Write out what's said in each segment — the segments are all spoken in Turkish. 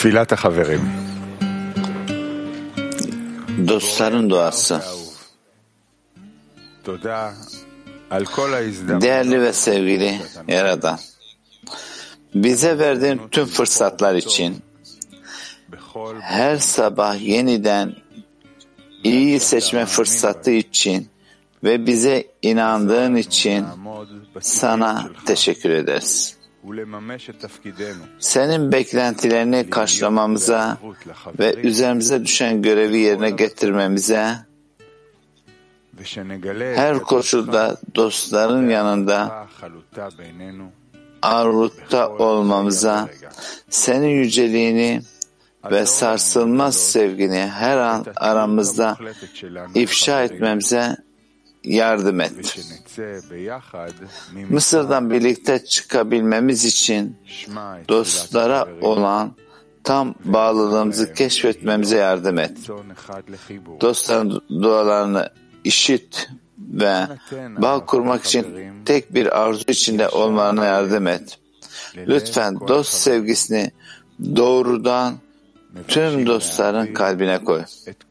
Dostların duası. Değerli ve sevgili Yaradan, bize verdiğin tüm fırsatlar için, her sabah yeniden iyi seçme fırsatı için ve bize inandığın için sana teşekkür ederiz. Senin beklentilerini karşılamamıza ve üzerimize düşen görevi yerine getirmemize, her koşulda dostların yanında ağırlıkta olmamıza, senin yüceliğini ve sarsılmaz sevgini her an aramızda ifşa etmemize yardım et. Mısır'dan birlikte çıkabilmemiz için dostlara olan tam bağlılığımızı keşfetmemize yardım et. Dostların dualarını işit ve bağ kurmak için tek bir arzu içinde olmalarına yardım et. Lütfen dost sevgisini doğrudan tüm dostların kalbine koy.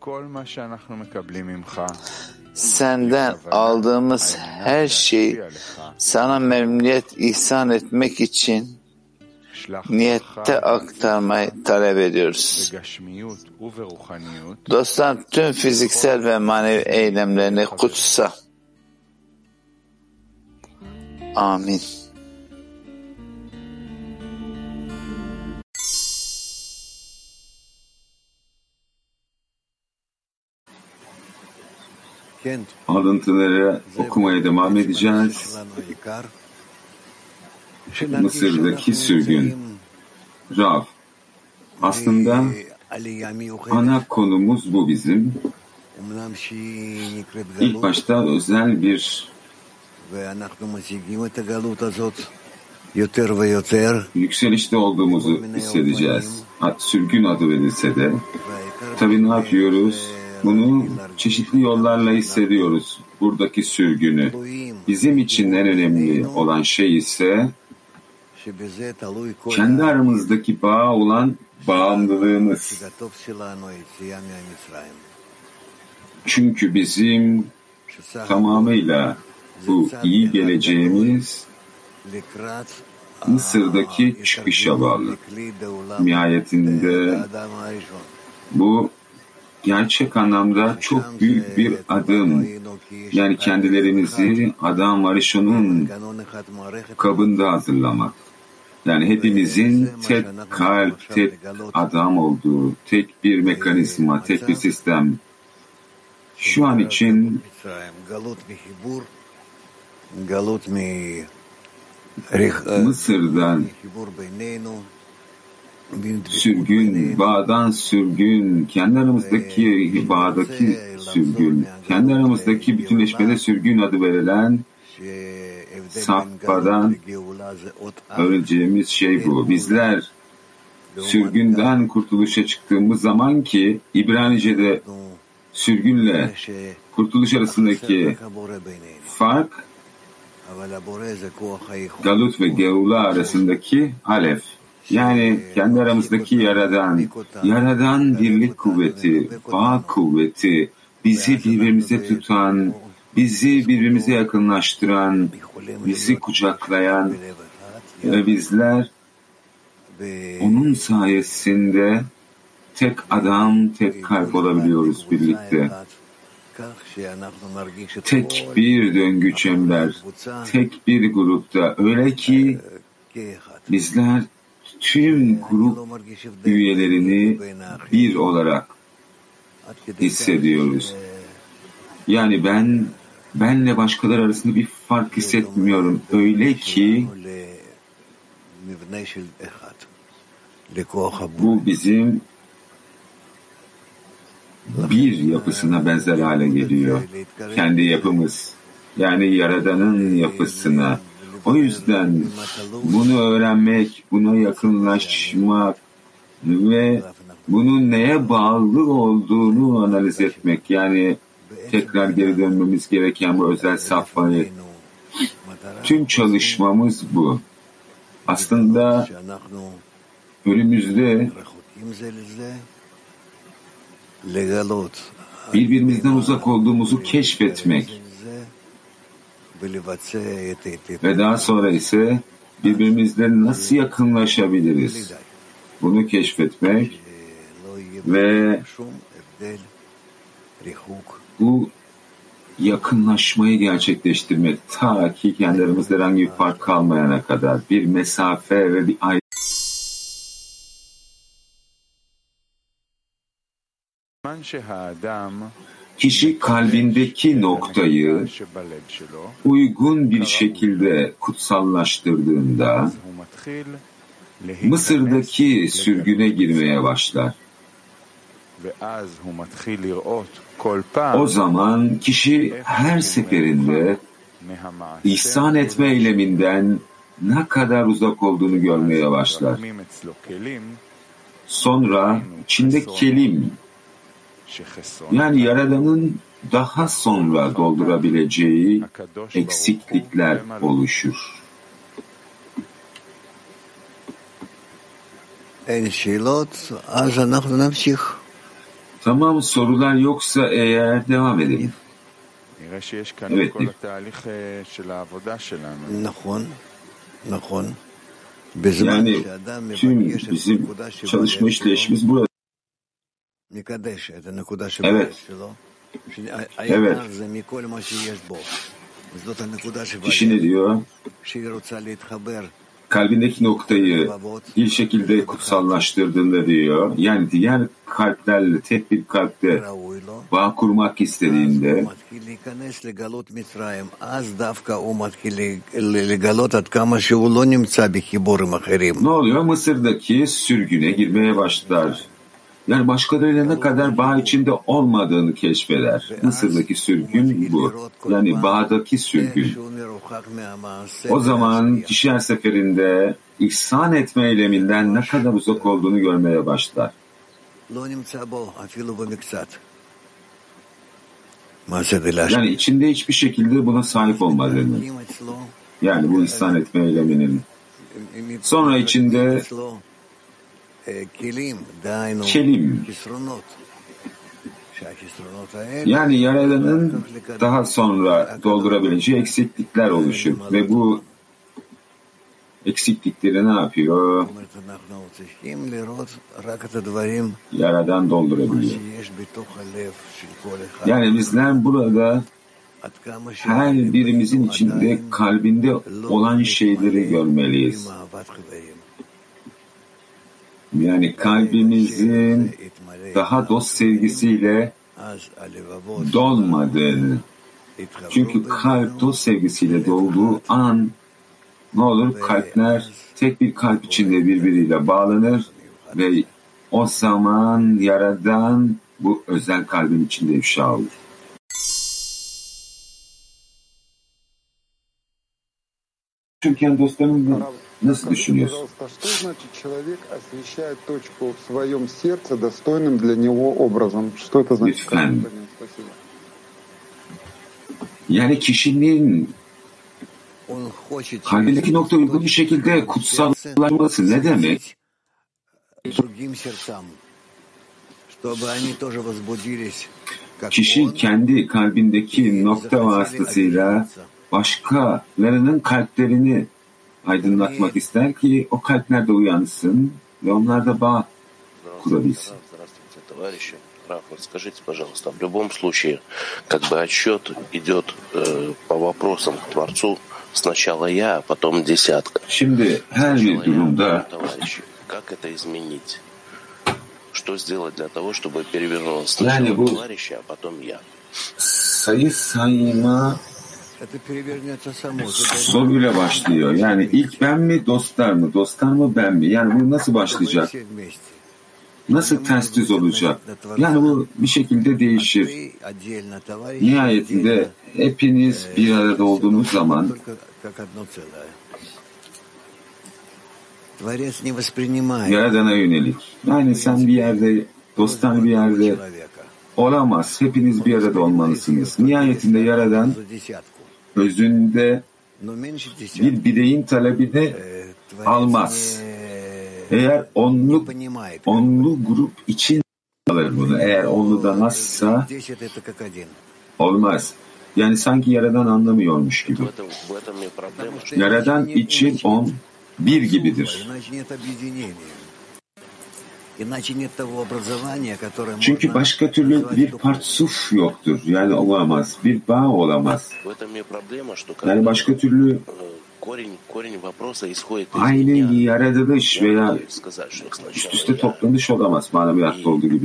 Senden aldığımız her şeyi sana memnuniyet ihsan etmek için niyette aktarmayı talep ediyoruz. Dostlar tüm fiziksel ve manevi eylemlerini kutsa. Amin. Alıntıları okumaya devam edeceğiz. Mısır'daki sürgün. Rav. Aslında ana konumuz bu bizim. İlk başta özel bir yükselişte olduğumuzu hissedeceğiz. Sürgün adı verilse de. Tabii ne yapıyoruz? Bunu çeşitli yollarla hissediyoruz. Buradaki sürgünü. Bizim için en önemli olan şey ise kendi aramızdaki bağ olan bağımlılığımız. Çünkü bizim tamamıyla bu iyi geleceğimiz Mısır'daki çıkışa bağlı. Nihayetinde bu gerçek anlamda çok büyük bir adım. Yani kendilerimizi Adam Arishon'un kabında hazırlamak. Yani hepimizin tek kalp, tek adam olduğu, tek bir mekanizma, tek bir sistem. Şu an için Mısır'dan sürgün, bağdan sürgün, kendi aramızdaki bağdaki sürgün, kendi aramızdaki bütünleşmede sürgün adı verilen safhadan öğreneceğimiz şey bu. Bizler sürgünden kurtuluşa çıktığımız zaman ki İbranice'de sürgünle kurtuluş arasındaki fark Galut ve Geula arasındaki alef. Yani kendi aramızdaki Yaradan birlik kuvveti, bağ kuvveti, bizi birbirimize tutan, bizi birbirimize yakınlaştıran, bizi kucaklayan ve bizler onun sayesinde tek adam, tek kalp olabiliyoruz birlikte. Tek bir döngü çember, tek bir grupta. Öyle ki bizler tüm grup üyelerini bir olarak hissediyoruz. Yani benle başkalar arasında bir fark hissetmiyorum. Öyle ki bu bizim bir yapısına benzer hale geliyor. Kendi yapımız. Yani Yaradan'ın yapısına. O yüzden bunu öğrenmek, buna yakınlaşmak ve bunun neye bağlı olduğunu analiz etmek. Yani tekrar geri dönmemiz gereken bu özel safhayı. Tüm çalışmamız bu. Aslında önümüzde birbirimizden uzak olduğumuzu keşfetmek ve daha sonra ise birbirimizle nasıl yakınlaşabiliriz? Bunu keşfetmek ve bu yakınlaşmayı gerçekleştirmek ta ki kendi aramızda herhangi bir fark kalmayana kadar bir mesafe ve bir ayrı. Kişi kalbindeki noktayı uygun bir şekilde kutsallaştırdığında Mısır'daki sürgüne girmeye başlar. O zaman kişi her seferinde ihsan etme eyleminden ne kadar uzak olduğunu görmeye başlar. Sonra içinde kelim, yani Yaradan'ın daha sonra doldurabileceği eksiklikler oluşur. Tamam, sorular yoksa eğer devam edelim. Evet. Yani tüm bizim çalışma işleyişimiz burada. Evet. Evet. Kişi ne diyor? Kalbindeki noktayı bir şekilde kutsallaştırdığında diyor, yani diğer kalplerle tek bir kalpte bağ kurmak istediğinde ne oluyor? Mısır'daki sürgüne girmeye başlar. Yani başkalarıyla ne kadar bağ içinde olmadığını keşfeder. Mısır'daki sürgün bu. Yani bağdaki sürgün. O zaman kişi her seferinde ihsan etme eyleminden ne kadar uzak olduğunu görmeye başlar. Yani içinde hiçbir şekilde buna sahip olmadığını. Yani bu ihsan etme eyleminin. Sonra içinde kelim, yani Yaradan'ın daha sonra doldurabileceği eksiklikler oluşur ve bu eksiklikleri ne yapıyor? Yaradan doldurabiliyor. Yani bizler burada her birimizin içinde kalbinde olan şeyleri görmeliyiz. Yani kalbimizin daha dost sevgisiyle dolmadığını. Çünkü kalp dost sevgisiyle dolduğu an ne olur? Kalpler tek bir kalp içinde birbiriyle bağlanır ve o zaman Yaradan bu özel kalbin içinde ifşa olur. Çünkü dostlarım nasıl düşünüyorsun? Lütfen. Yani kişinin kalbindeki nokta uygun bir şekilde kutsallaşması ne demek? Kişi kendi kalbindeki nokta vasıtasıyla başkalarının kalplerini aydınlatmak ister ki o kalpler de uyansın ve onlar da bağ kurabilsin. Раф, скажите, пожалуйста, в любом случае, как бы отсчет идет по вопросам к Творцу сначала я, а потом десятка. Şimdi her bir durumda как это изменить? Что сделать для того, чтобы перевернулось сначала товарища, а потом я? Sayı sayma soruyla başlıyor. Yani ilk ben mi, dostlar mı? Dostlar mı, ben mi? Yani bu nasıl başlayacak? Nasıl ters düz olacak? Yani bu bir şekilde değişir. Nihayetinde hepiniz bir arada olduğunuz zaman Yaradan'a yönelik. Yani sen bir yerde, dostlar bir yerde olamaz. Hepiniz bir arada olmalısınız. Nihayetinde Yaradan özünde bir bireyin talebini almaz. Eğer onlu grup için alır bunu. Eğer onlu da nasılsa olmaz. Yani sanki Yaradan anlamıyormuş gibi. Yaradan için 10 bir gibidir. Çünkü başka türlü bir partsuf yoktur. Yani olamaz. Bir bağ olamaz. Yani başka türlü aynı yaratılış veya üst üste toplanış olamaz. Maneviyatta olduğu gibi.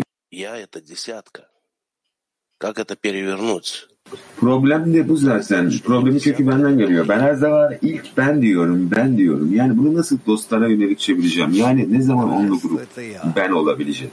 Problem de bu zaten. Problemin kökü benden geliyor. Ben her zaman ilk ben diyorum. Yani bunu nasıl dostlara yönelik çevireceğim? Yani ne zaman onlu grup ben olabilecek?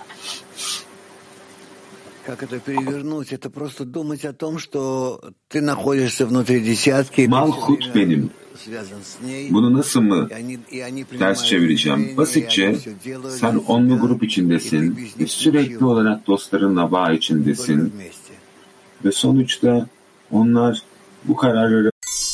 Malhut benim. Bunu nasıl mı ters çevireceğim? Basitçe sen onlu grup içindesin ve sürekli olarak dostlarınla bağ içindesin. Ve sonuçta onlar bu kararları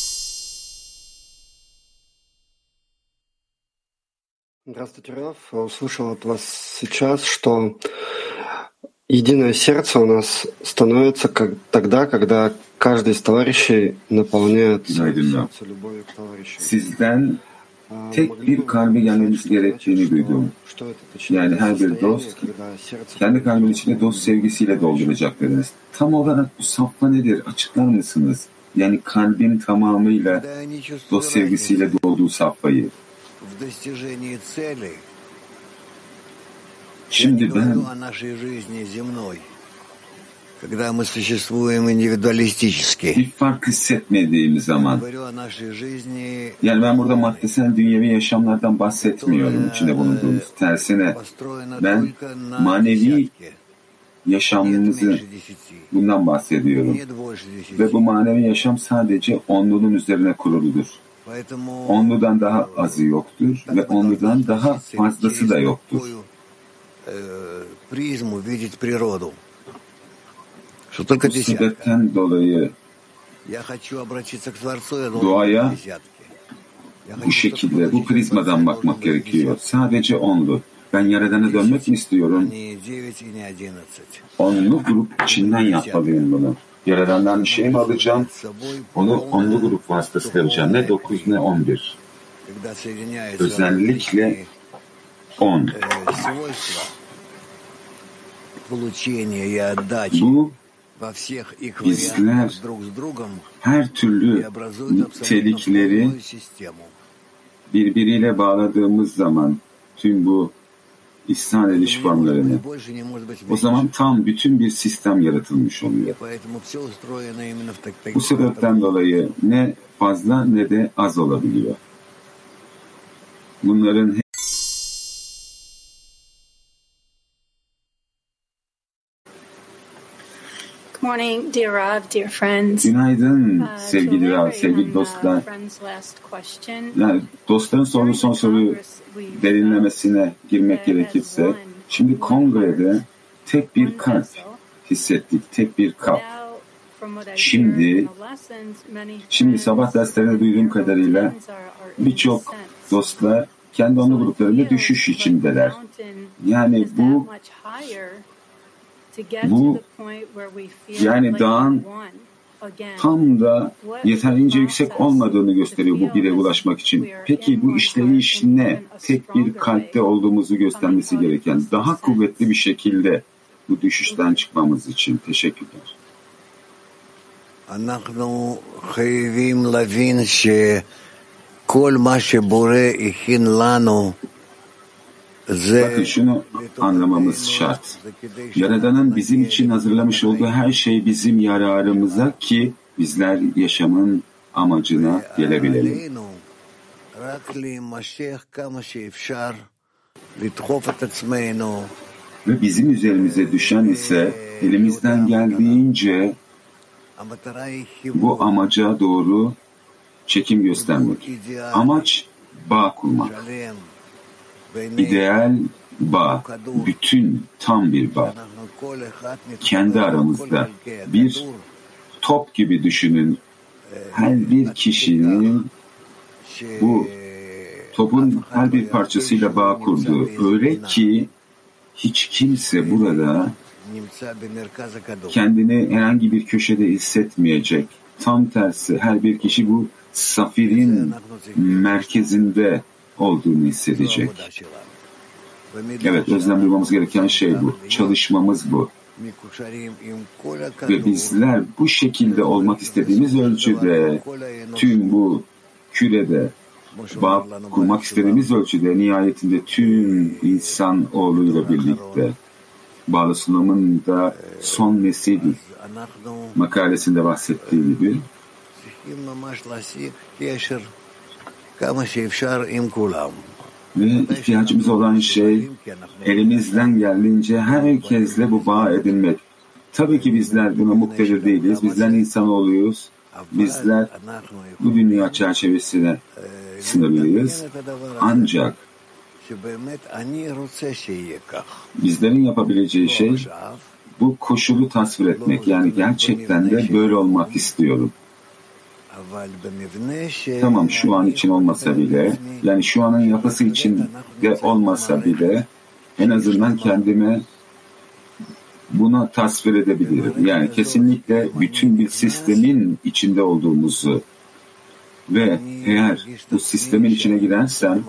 Здравствуйте, Раф. Услышал от вас сейчас, что единое сердце у нас становится тогда, когда каждый из товарищей наполняет сердце любовью к товарищу. Sizden tek bir kalbe gelmemiz gerektiğini duydum. Yani her bir dost kendi kalbin içine dost sevgisiyle dolduracak dediniz. Tam olarak bu safha nedir? Açıklar mısınız? Yani kalbin tamamıyla dost sevgisiyle dolduğu safhayı. Şimdi ben bir fark hissetmediğim zaman, yani ben burada maddesel dünyevi yaşamlardan bahsetmiyorum içinde bulunduğumuz. Tersine ben manevi yaşamımızı bundan bahsediyorum. Ve bu manevi yaşam sadece onluluğun üzerine kuruludur. Onludan daha azı yoktur ve onludan daha fazlası da yoktur. Bu sebepten dolayı doğaya bu şekilde, bu prizmadan bakmak gerekiyor. Sadece onlu. Ben Yaradan'a dönmek mi istiyorum? Onlu grup içinden yapmalıyım bunu. Yaradan'dan bir şey mi alacağım? Onu onlu grup vasıtasıyla alacağım. Ne 9 ne 11. Özellikle 10. Bu bizler her türlü nitelikleri birbiriyle bağladığımız zaman tüm bu ihsan ediş formlarını, o zaman tam bütün bir sistem yaratılmış oluyor. Bu sebepten dolayı ne fazla ne de az olabiliyor. Bunların Morning, dear Rav, dear friends. Günaydın sevgili Rav, sevgili dostlar. Yani dostların sorduğu son soruyu derinlemesine girmek gerekirse, şimdi kongrede tek bir kalp hissettik, tek bir kalp. Şimdi sabah derslerinde duyduğum kadarıyla birçok dostlar kendi onlu gruplarında düşüş içindeler. Yani bu yani dağın tam da yeterince yüksek olmadığını gösteriyor bu bire ulaşmak için. Peki bu işleyiş ne? Tek bir kalpte olduğumuzu göstermesi gereken daha kuvvetli bir şekilde bu düşüşten çıkmamız için. Teşekkürler. אנחנו חייבים להבין שכל מה שבורא הכין לנו Bakın şunu anlamamız şart. Yaradan'ın bizim için hazırlamış olduğu her şey bizim yararımıza ki bizler yaşamın amacına gelebilelim. Ve bizim üzerimize düşen ise elimizden geldiğince bu amaca doğru çekim göstermek. Amaç bağ kurmak. İdeal bağ, bütün tam bir bağ. Kendi aramızda bir top gibi düşünün. Her bir kişinin bu topun her bir parçasıyla bağ kurdu. Öyle ki hiç kimse burada kendini herhangi bir köşede hissetmeyecek. Tam tersi, her bir kişi bu safirin merkezinde olduğunu hissedecek. Evet, özlem duymamız gereken şey bu. Çalışmamız bu. Ve bizler bu şekilde olmak istediğimiz ölçüde, tüm bu kürede bağ kurmak istediğimiz ölçüde, nihayetinde tüm insan oğluyla birlikte, Bağlı Sulam'ın da son nesil makalesinde bahsettiği gibi ve ihtiyacımız olan şey elimizden geldiğince herkesle bu bağ edinmek. Tabii ki bizler buna muktedir değiliz. Bizler insanoğluyuz. Bizler bu dünya çerçevesine sınırlıyız. Ancak bizlerin yapabileceği şey bu koşulu tasvir etmek. Yani gerçekten de böyle olmak istiyorum. Tamam, şu an için olmasa bile, yani şu anın yapısı için de olmasa bile en azından kendime buna tasvir edebilirim. Yani kesinlikle bütün bir sistemin içinde olduğumuzu ve eğer bu sistemin içine girersem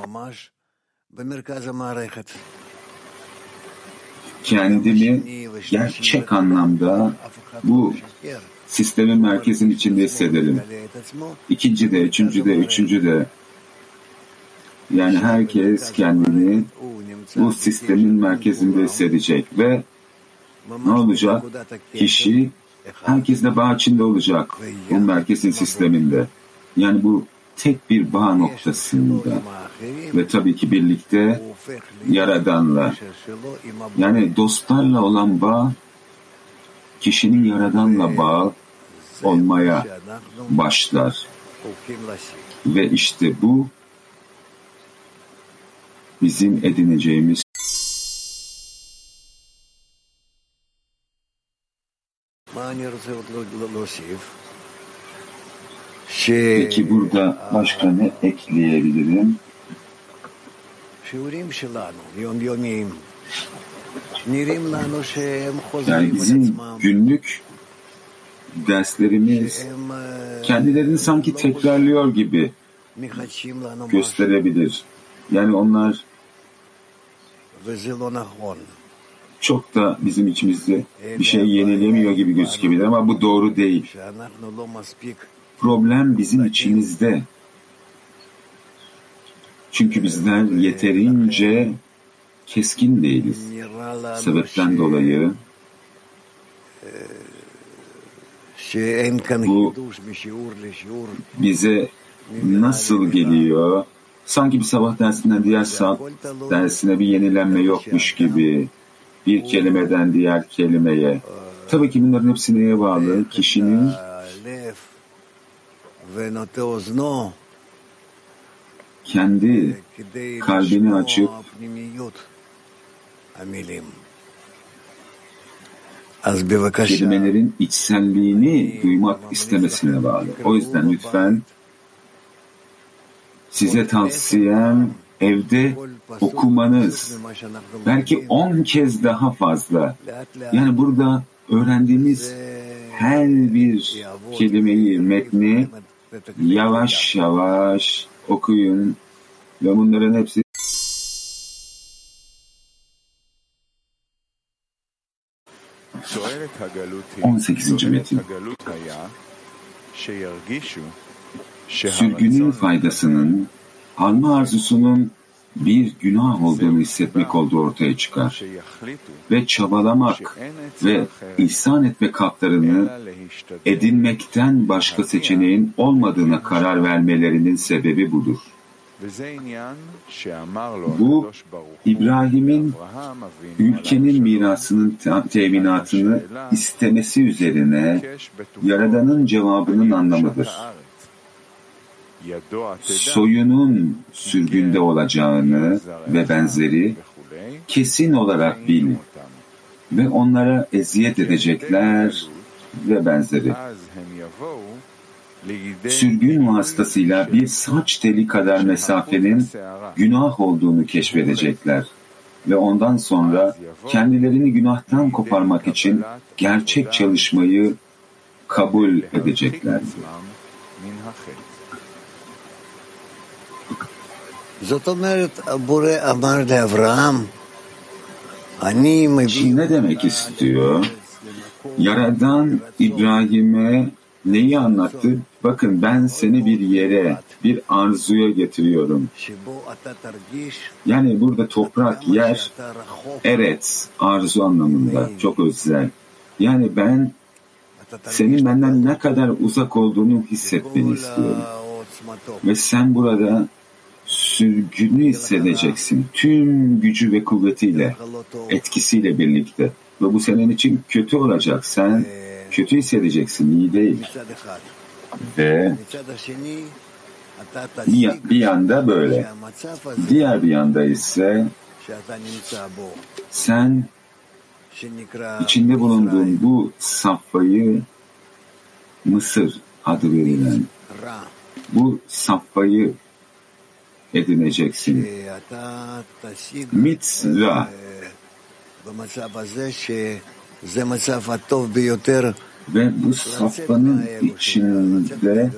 kendimi gerçek anlamda bu sistemin merkezinin içinde hissederim. İkinci de, üçüncü de, üçüncü de. Yani herkes kendini bu sistemin merkezinde hissedecek ve ne olacak? Kişi herkesle bağ içinde olacak bu merkezin sisteminde. Yani bu tek bir bağ noktasında ve tabii ki birlikte Yaradan'la, yani dostlarla olan bağ kişinin Yaradan'la bağ olmaya başlar. Ve işte bu bizim edineceğimiz Peki burada başka ne ekleyebilirim? Yani bizim günlük derslerimiz kendilerini sanki tekrarlıyor gibi gösterebilir. Yani onlar çok da bizim içimizde bir şey yenilemiyor gibi gözükebilir ama bu doğru değil. Problem bizim içimizde. Çünkü bizler yeterince keskin değiliz. Sebepten dolayı bu bize nasıl geliyor? Sanki bir sabah dersinden diğer dersine bir yenilenme yokmuş gibi. Bir kelimeden diğer kelimeye. Tabii ki bunların hepsi neye bağlı? Kişinin kendi kalbini açıp kelimelerin içselliğini duymak istemesine bağlı. O yüzden lütfen size tavsiyem evde okumanız. Belki 10 kez daha fazla. Yani burada öğrendiğimiz her bir kelimeyi, metni yavaş yavaş okuyun ve bunların hepsi 18. metin. Sürgünün faydasının alma arzusunun bir günah olduğunu hissetmek olduğu ortaya çıkar. Ve çabalamak ve ihsan etmek haklarını edinmekten başka seçeneğin olmadığına karar vermelerinin sebebi budur. Bu, İbrahim'in ülkenin mirasının teminatını istemesi üzerine Yaradan'ın cevabının anlamıdır. Soyunun sürgünde olacağını ve benzeri kesin olarak bil ve onlara eziyet edecekler ve benzeri. sürgün vasıtasıyla bir saç teli kadar mesafenin günah olduğunu keşfedecekler ve ondan sonra kendilerini günahtan koparmak için gerçek çalışmayı kabul edecekler. Şimdi ne demek istiyor? Yaradan İbrahim'e neyi anlattı? Bakın ben seni bir yere, bir arzuya getiriyorum. Yani burada toprak, yer, eret, arzu anlamında çok özel. Yani ben senin benden ne kadar uzak olduğunu hissetmeni istiyorum. Ve sen burada sürgünü hissedeceksin. Tüm gücü ve kuvvetiyle, etkisiyle birlikte. Ve bu senin için kötü olacak. Sen kötü hissedeceksin, iyi değil. Ve bir yanda böyle. Diğer bir yanda ise sen içinde bulunduğun bu safhayı Mısır adı verilen bu safhayı edineceksin. Mitzra. Ve bu safhanın içinde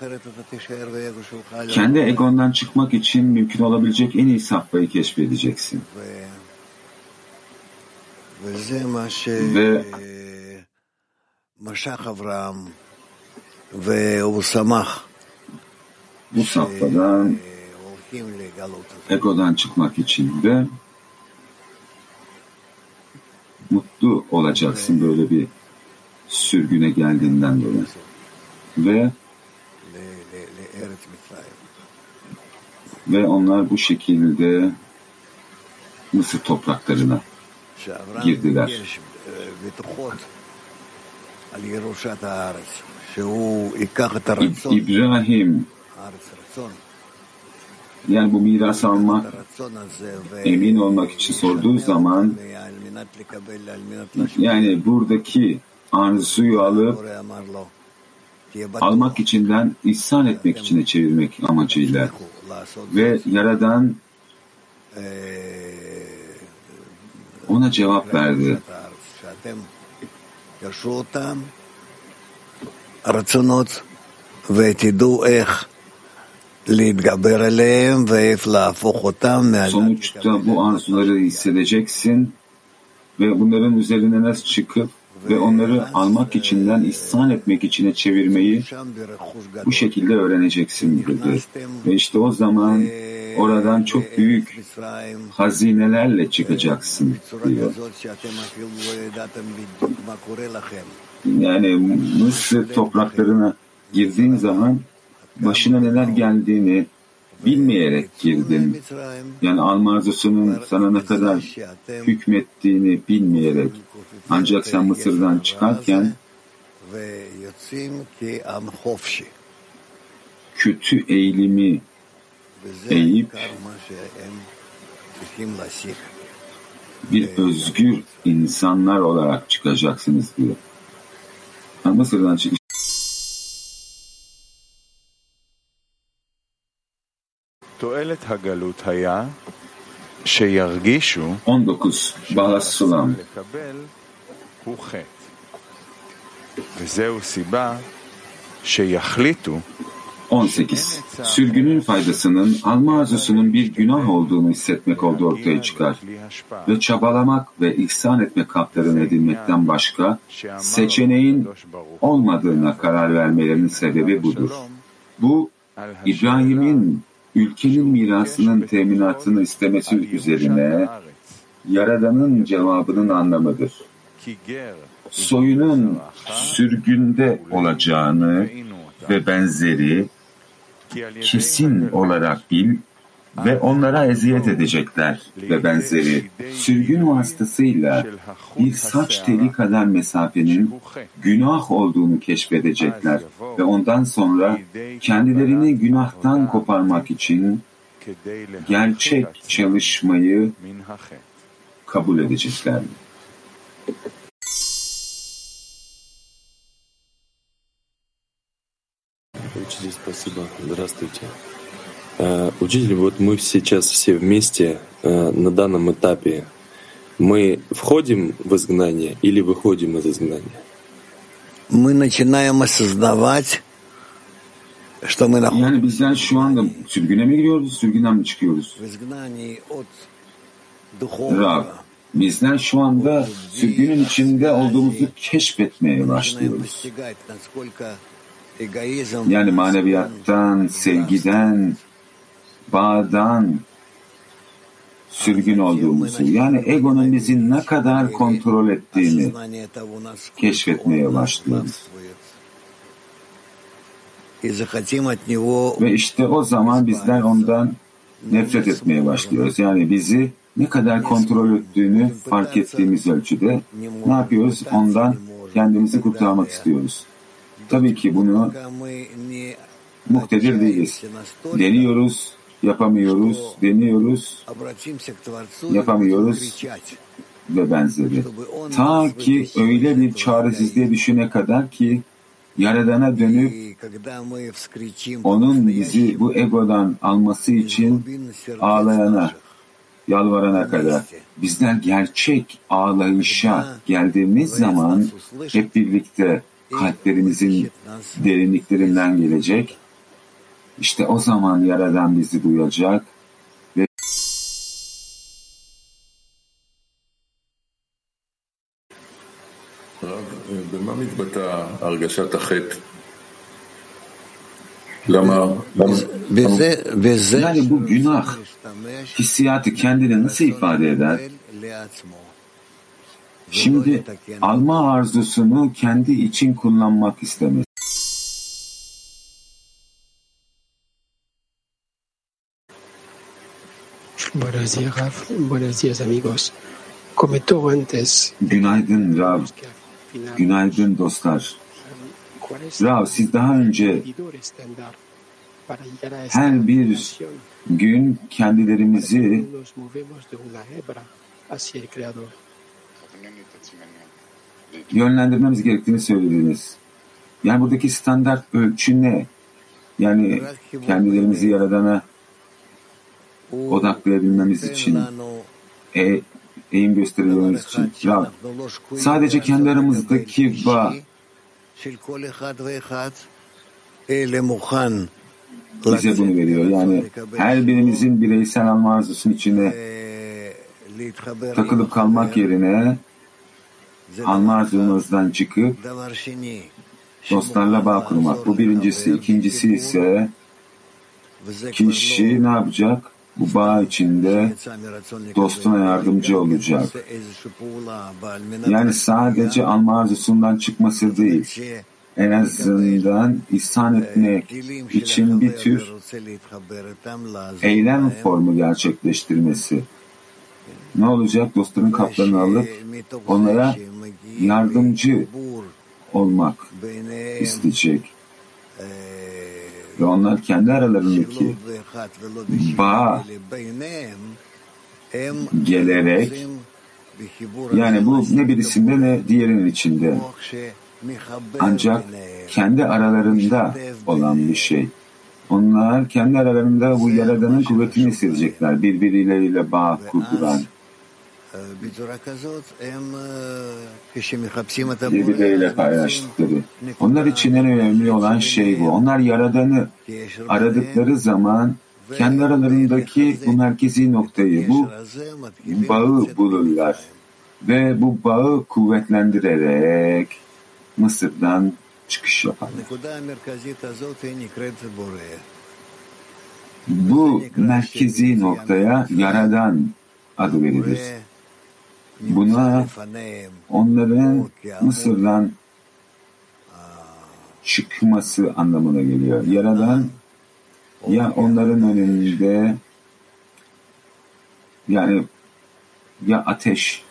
kendi egondan çıkmak için mümkün olabilecek en iyi safhayı keşfedeceksin. Ve bu safhadan egodan çıkmak için de mutlu olacaksın böyle bir sürgüne geldiğinden dolayı. Ve onlar bu şekilde Mısır topraklarına girdiler. İbrahim yani bu miras almak, emin olmak için sorduğu zaman yani buradaki arzuyu alıp almak içinden ihsan etmek içine çevirmek amacıyla ve Yaradan ona cevap verdi. Sonuçta bu arzuları hissedeceksin ve bunların üzerine nasıl çıkıp ve onları almak içinden ihsan etmek içine çevirmeyi bu şekilde öğreneceksin dedi. Ve işte o zaman oradan çok büyük hazinelerle çıkacaksın diyor. Yani Mısır topraklarına girdiğin zaman başına neler geldiğini bilmeyerek girdin. Yani alma arzusunun sana ne kadar hükmettiğini bilmeyerek. Ancak sen Mısır'dan çıkarken kötü eğilimi eğip bir özgür insanlar olarak çıkacaksınız diyor. Yani Mısır'dan çıkış. תועלת הגלות היה שירגישו 19. Bahas Sulam. לקבל הוא חטא. וזהו סיבה שיחליטו 18. Sürgünün faydasının alma arzusunun bir günah olduğunu hissetmek olduğu ortaya çıkar. Ve çabalamak ve ihsan etmek kaplarını edinmekten başka seçeneğin olmadığına karar vermelerinin sebebi budur. Bu, İbrahim'in ülkenin mirasının teminatını istemesi üzerine Yaradan'ın cevabının anlamıdır. Soyunun sürgünde olacağını ve benzeri kesin olarak bil ve onlara eziyet edecekler ve benzeri sürgün vasıtasıyla bir saç teli kadar mesafenin günah olduğunu keşfedecekler ve ondan sonra kendilerini günahtan koparmak için gerçek çalışmayı kabul edecekler. Спасибо. Здравствуйте. Учитель, вот мы сейчас все вместе на данном этапе. Мы входим в изгнание или выходим из изгнания? Мы начинаем осознавать, что мы находимся Yani bizler şu anda sürgüne mi giriyoruz, sürgünden mi çıkıyoruz? в изгнании от Rab, духовного. bizler şu anda sürgünün içinde olduğumuzu keşfetmeye başlıyoruz. Yani maneviyattan, sevgiden, bağdan sürgün olduğumuzu, yani egonun bizi ne kadar kontrol ettiğini keşfetmeye başlıyoruz. Ve işte o zaman bizler ondan nefret etmeye başlıyoruz. Yani bizi ne kadar kontrol ettiğini fark ettiğimiz ölçüde ne yapıyoruz? Ondan kendimizi kurtarmak istiyoruz. Tabii ki bunu muktedir değiliz. Deniyoruz, yapamıyoruz, deniyoruz, yapamıyoruz ve benzeri. Ta ki öyle bir çaresizliğe düşene kadar ki Yaradan'a dönüp onun bizi bu egodan alması için ağlayana, yalvarana kadar. Bizler gerçek ağlayışa geldiğimiz zaman hep birlikte kalplerimizin derinliklerinden gelecek. İşte o zaman Yaradan bizi duyacak ve במה מתבטאה הרגשת החטא? yani bu günah hissiyatı kendine nasıl ifade eder? Şimdi alma arzusunu kendi için kullanmak istemesi. Buenos días, Raf. Buenos días, amigos. Comentó antes. Günaydın Rav. Günaydın dostlar. Rav, siz daha önce her bir gün kendilerimizi yönlendirmemiz gerektiğini söylediniz. Yani buradaki standart ölçü ne? Yani kendilerimizi Yaradan'a odaklayabilmemiz için, eğim gösterebilmemiz için. Rav, sadece kendi aramızdaki bağ bize bunu veriyor. Yani her birimizin bireysel alma arzusunun içine takılıp kalmak yerine alma arzumuzdan çıkıp dostlarla bağ kurmak. Bu birincisi. İkincisi ise kişi ne yapacak? Bu bağ içinde dostuna yardımcı olacak. Yani sadece alma arzusundan çıkması değil, en azından ihsan etmek için bir tür eylem formu gerçekleştirmesi. Ne olacak? Dostların kaplarını alıp onlara yardımcı olmak isteyecek. Ve onlar kendi aralarındaki bağa gelerek, yani bu ne birisinde ne diğerinin içinde, ancak kendi aralarında olan bir şey. Onlar kendi aralarında bu Yaradan'ın kuvvetini hissedecekler, birbirleriyle bağ kurduran. Birbirleriyle paylaştıkları. Onlar için en önemli olan şey bu. Onlar Yaradan'ı aradıkları zaman kendi aralarındaki bu merkezi noktayı, bu bağı bulurlar. Ve bu bağı kuvvetlendirerek Mısır'dan çıkış yaparlar. Bu merkezi noktaya Yaradan adı verilir. Buna onların Mısır'dan çıkması anlamına geliyor. Yaradan ya onların önünde, yani ya ateş,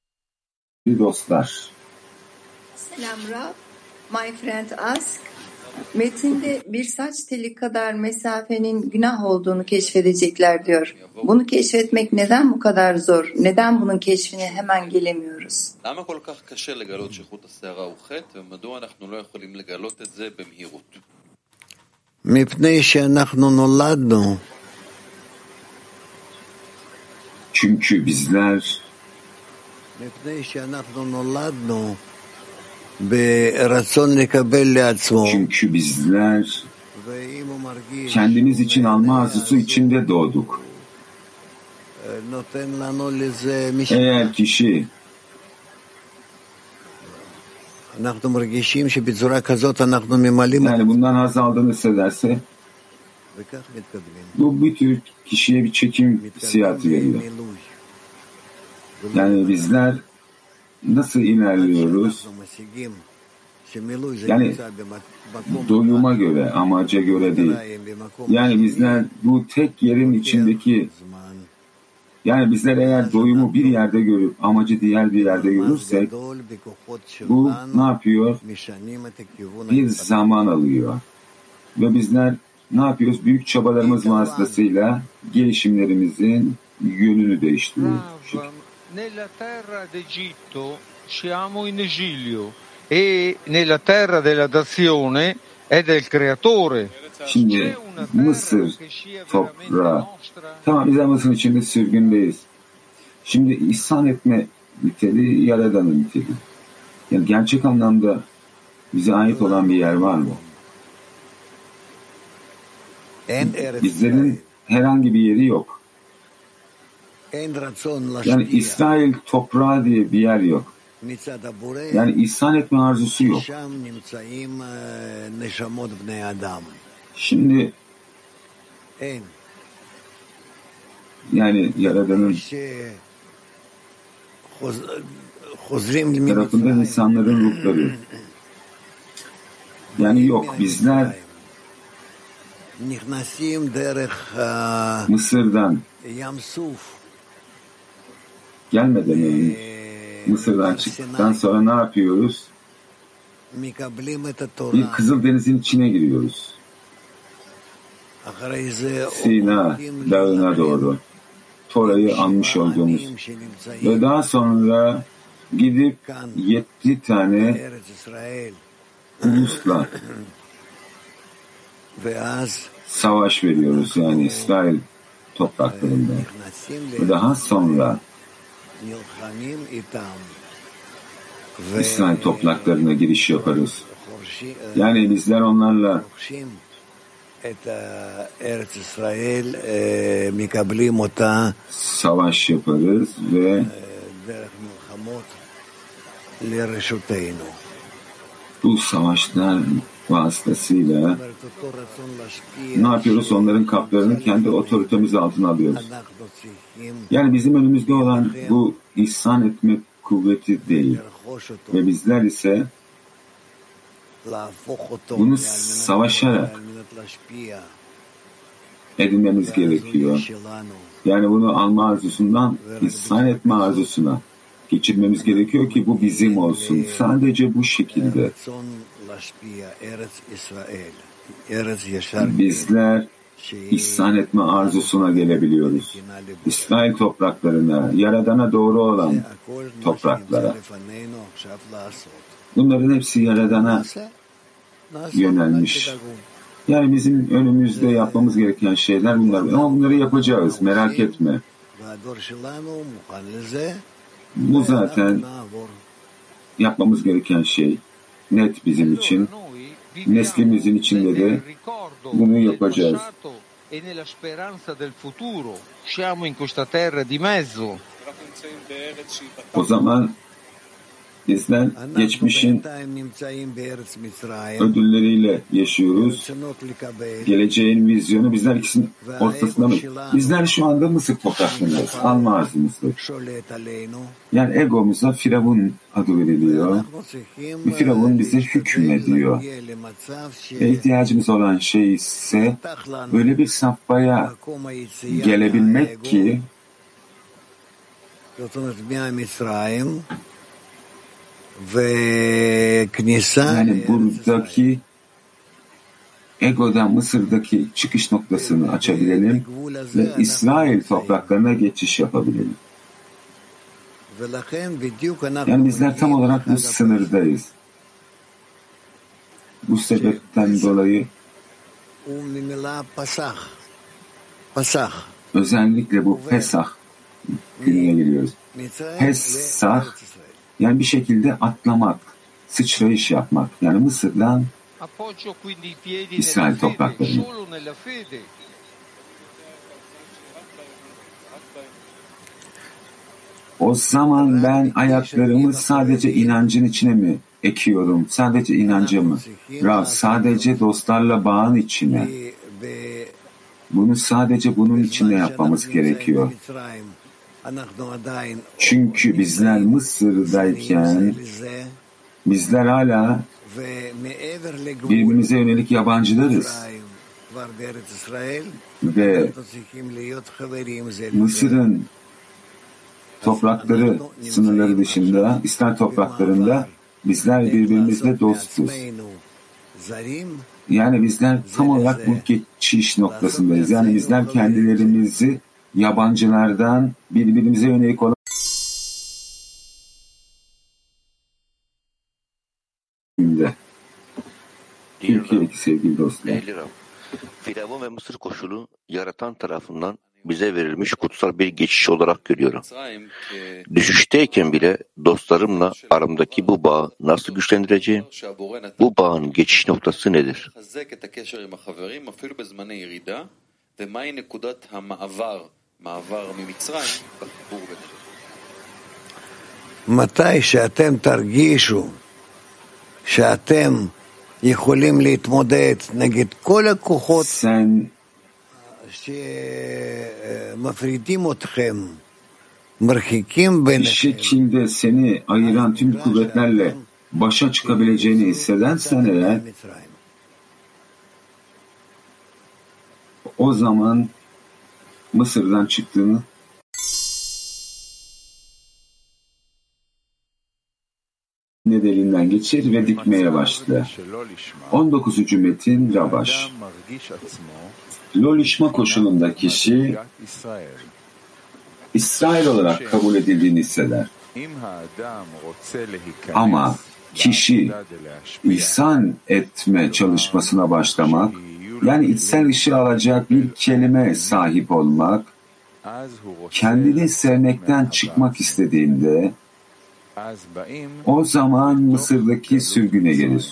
dostlar. Selam Rab. My friend asked, Metinde bir saç teli kadar mesafenin günah olduğunu keşfedecekler diyor. Bunu keşfetmek neden bu kadar zor? Neden bunun keşfine hemen gelemiyoruz? Çünkü bizler kendimiz için alma arzusu içinde doğduk. Eğer kişi yani bundan haz aldığını hissederse bu bir tür kişiye bir çekim hissiyatı veriyor. Yani bizler nasıl ilerliyoruz? Yani doyuma göre, amaca göre değil. Yani bizler bu tek yerin içindeki, yani bizler eğer doyumu bir yerde görüp amacı diğer bir yerde görürsek, bu ne yapıyor? Bir zaman alıyor. Ve bizler ne yapıyoruz? Büyük çabalarımız vasıtasıyla gelişimlerimizin yönünü değiştiriyoruz. Nella terra d'Egitto siamo in esilio e nella terra della dazione è del creatore. Şimdi Mısır toprağı. Tamam, biz Mısır'ın içinde sürgündeyiz. Şimdi ihsan etme niteliği Yaradan'ın niteliği. Yani gerçek anlamda bize ait olan bir yer var mı? Bizlerin herhangi bir yeri yok. Yani İsrail toprağı diye bir yer yok. Yani ihsan etme arzusu yok. Şimdi yani Yaradan'ın tarafından insanların ruhları. Yani yok, bizler Mısır'dan gelmeden önce, Mısır'dan çıktıktan sonra ne yapıyoruz? Bir Kızıldeniz'in içine giriyoruz. Sina dağına doğru Tora'yı almış olduğumuz ve daha sonra gidip 7 tane ulusla savaş veriyoruz, yani İsrail topraklarında. Ve daha sonra İsrail topraklarına giriş yaparız. Yani bizler onlarla savaş yaparız ve bu savaşlar vasıtasıyla ne yapıyoruz? Onların kaplarını kendi otoritemiz altına alıyoruz. Yani bizim önümüzde olan bu ihsan etme kuvveti değil. Ve bizler ise bunu savaşarak edinmemiz gerekiyor. Yani bunu alma arzusundan ihsan etme arzusuna geçirmemiz gerekiyor ki bu bizim olsun. Sadece bu şekilde bizler ihsan etme arzusuna gelebiliyoruz. İsrail topraklarına, Yaradan'a doğru olan topraklara. Bunların hepsi Yaradan'a yönelmiş. Yani bizim önümüzde yapmamız gereken şeyler bunlar. Ama bunları yapacağız, merak etme. Bu zaten yapmamız gereken şey. Net bizim için. Neslimizin içinde de bunu yapacağız. O zaman bizler geçmişin ödülleriyle yaşıyoruz. Geleceğin vizyonu bizler ikisinin ortasında mı? Bizler şu anda Mısır topraklarındayız. Alma arzımızda. Yani egomuza Firavun adı veriliyor. Ve Firavun bize hükmediyor. Ve ihtiyacımız olan şey ise böyle bir safhaya gelebilmek ki yani buradaki egodan Mısır'daki çıkış noktasını açabilelim ve İsrail topraklarına geçiş yapabilelim. Yani bizler tam olarak bu sınırdayız. Bu sebepten dolayı özellikle bu Pesah gününe geliyoruz. Pesah yani bir şekilde atlamak, sıçrayış yapmak. Yani Mısır'dan İsrail topraklarına. O zaman ben ayaklarımı sadece inancın içine mi ekiyorum? Sadece inancı mı? Rav, sadece dostlarla bağın içine. Bunu sadece bunun içinde yapmamız gerekiyor. Çünkü bizler Mısır'dayken bizler hala birbirimize yönelik yabancılarız. Ve Mısır'ın toprakları, sınırları dışında, İsrail topraklarında bizler birbirimizle dostuz. Yani bizler tam olarak bu geçiş noktasındayız. Yani bizler kendilerimizi yabancılardan birbirimize yönelik olan Türkiye'deki sevgili dostlar. Firavun ve Mısır koşulu yaratan tarafından bize verilmiş kutsal bir geçiş olarak görüyorum. Düşüşteyken bile dostlarımla aramdaki bu bağı nasıl güçlendireceğim? Bu bağın geçiş noktası nedir? מתי שאתם תרגישו שאתם יכולים להתמודד נגד כל הכוחות שמפרידים אתכם, מרחיקים bir ביניכם. şekilde seni ayıran tüm kuvvetlerle başa çıkabileceğini hissedersen eğer, o zaman Mısır'dan çıktığını nedeninden geçir ve dikmeye başlar. 19. metin Rabaş. Lolişma koşulunda kişi İsrail olarak kabul edildiğini hisseder. Ama kişi ihsan etme çalışmasına başlamak, yani içsel ışığı alacak bir kelime sahip olmak, kendini sevmekten çıkmak istediğinde, o zaman Mısır'daki sürgüne gelir.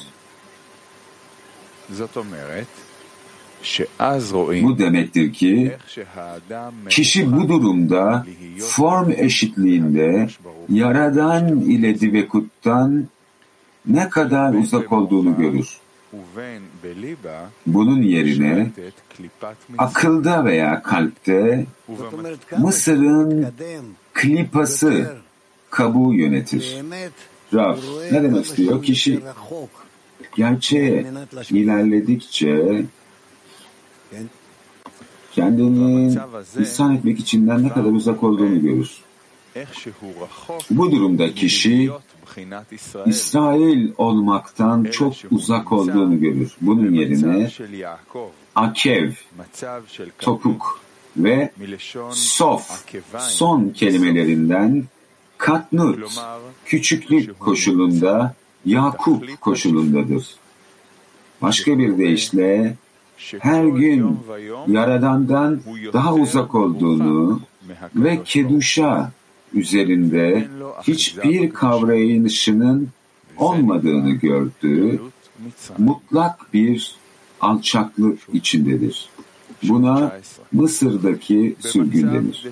Bu demektir ki kişi bu durumda form eşitliğinde Yaradan ile Divekut'tan ne kadar uzak olduğunu görür. Bunun yerine akılda veya kalpte Mısır'ın klipası, kabuğu yönetir. Rav, ne demek istiyor? Kişi gerçeğe ilerledikçe kendini ihsan etmek içinden ne kadar uzak olduğunu görür. Bu durumda kişi İsrail olmaktan çok uzak olduğunu görür. Bunun yerine akev, topuk ve sof, son kelimelerinden katnut, küçüklük koşulunda, Yakup koşulundadır. Başka bir deyişle her gün Yaradan'dan daha uzak olduğunu ve keduşa üzerinde hiçbir kavrayışının olmadığını gördüğü mutlak bir alçaklık içindedir. Buna Mısır'daki sürgün denir.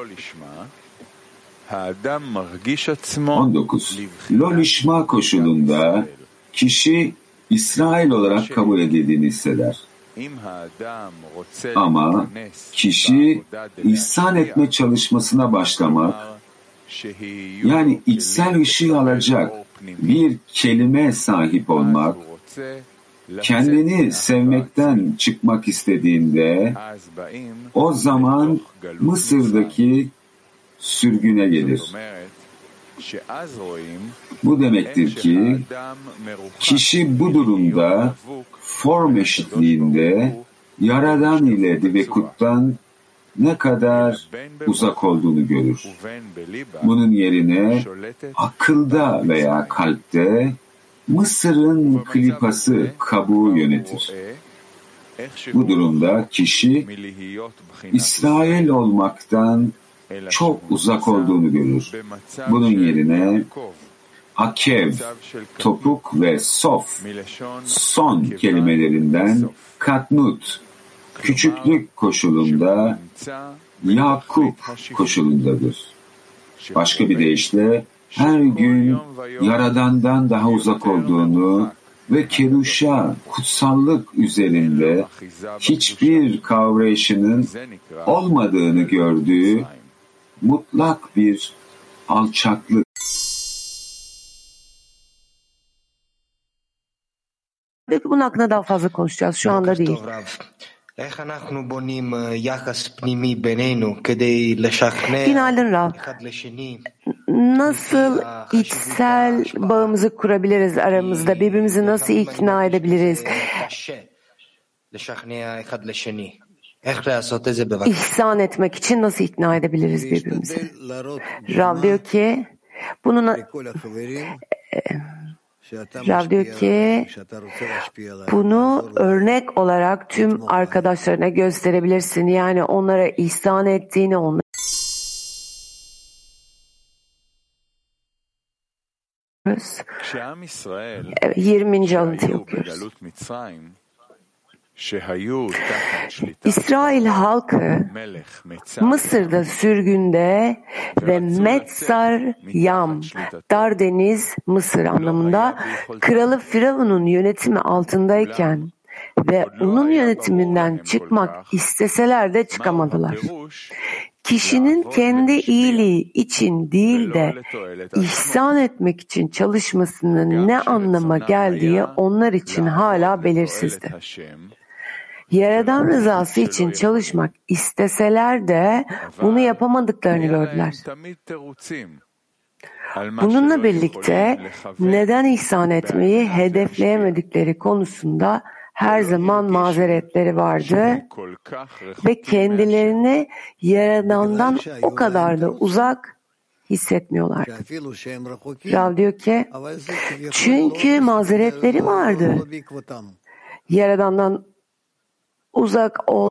19. Lolişma koşulunda kişi İsrail olarak kabul edildiğini hisseder. Ama kişi ihsan etme çalışmasına başlamak, yani içsel ışığı alacak bir kelime sahip olmak, kendini sevmekten çıkmak istediğinde, o zaman Mısır'daki sürgüne gelir. Bu demektir ki kişi bu durumda form eşitliğinde Yaradan ile Divekut'tan ne kadar uzak olduğunu görür. Bunun yerine akılda veya kalpte Mısır'ın klipası kabuğu yönetir. Bu durumda kişi İsrail olmaktan çok uzak olduğunu görür. Bunun yerine Akev, topuk ve sof, son kelimelerinden katnut, küçüklük koşulunda, Yakup koşulundadır. Başka bir deyişle her gün Yaradan'dan daha uzak olduğunu ve Keduşa, kutsallık üzerinde hiçbir kavrayışının olmadığını gördüğü mutlak bir alçaklık. Bunun hakkında daha fazla konuşacağız. Şu anda değil. Günaydın Rav. Nasıl içsel bağımızı kurabiliriz aramızda? Birbirimizi nasıl ikna edebiliriz? İhsan etmek için nasıl ikna edebiliriz birbirimizi? Rav diyor ki bunu örnek olarak tüm arkadaşlarına gösterebilirsin. Yani onlara ihsan ettiğini, onlara 20. alıntıyı okuyoruz. İsrail halkı Mısır'da sürgünde ve Metzar Yam, dar deniz Mısır anlamında kralı Firavun'un yönetimi altındayken ve onun yönetiminden çıkmak isteseler de çıkamadılar. Kişinin kendi iyiliği için değil de ihsan etmek için çalışmasının ne anlama geldiği onlar için hala belirsizdi. Yaradan rızası için çalışmak isteseler de bunu yapamadıklarını gördüler. Bununla birlikte neden ihsan etmeyi hedefleyemedikleri konusunda her zaman mazeretleri vardı ve kendilerini Yaradan'dan o kadar da uzak hissetmiyorlardı. Rav diyor ki, çünkü mazeretleri vardı. Yaradan'dan uzak ol.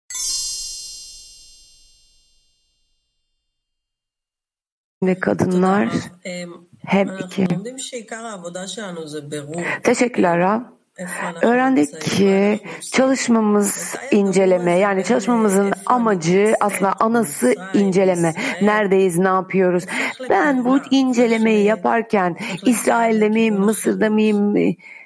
Ve kadınlar hep iki. Teşekkürler Rav. Öğrendik ki çalışmamız inceleme, yani çalışmamızın amacı aslında anası inceleme. Neredeyiz, ne yapıyoruz? Ben bu incelemeyi yaparken İsrail'de miyim, Mısır'da mıyım?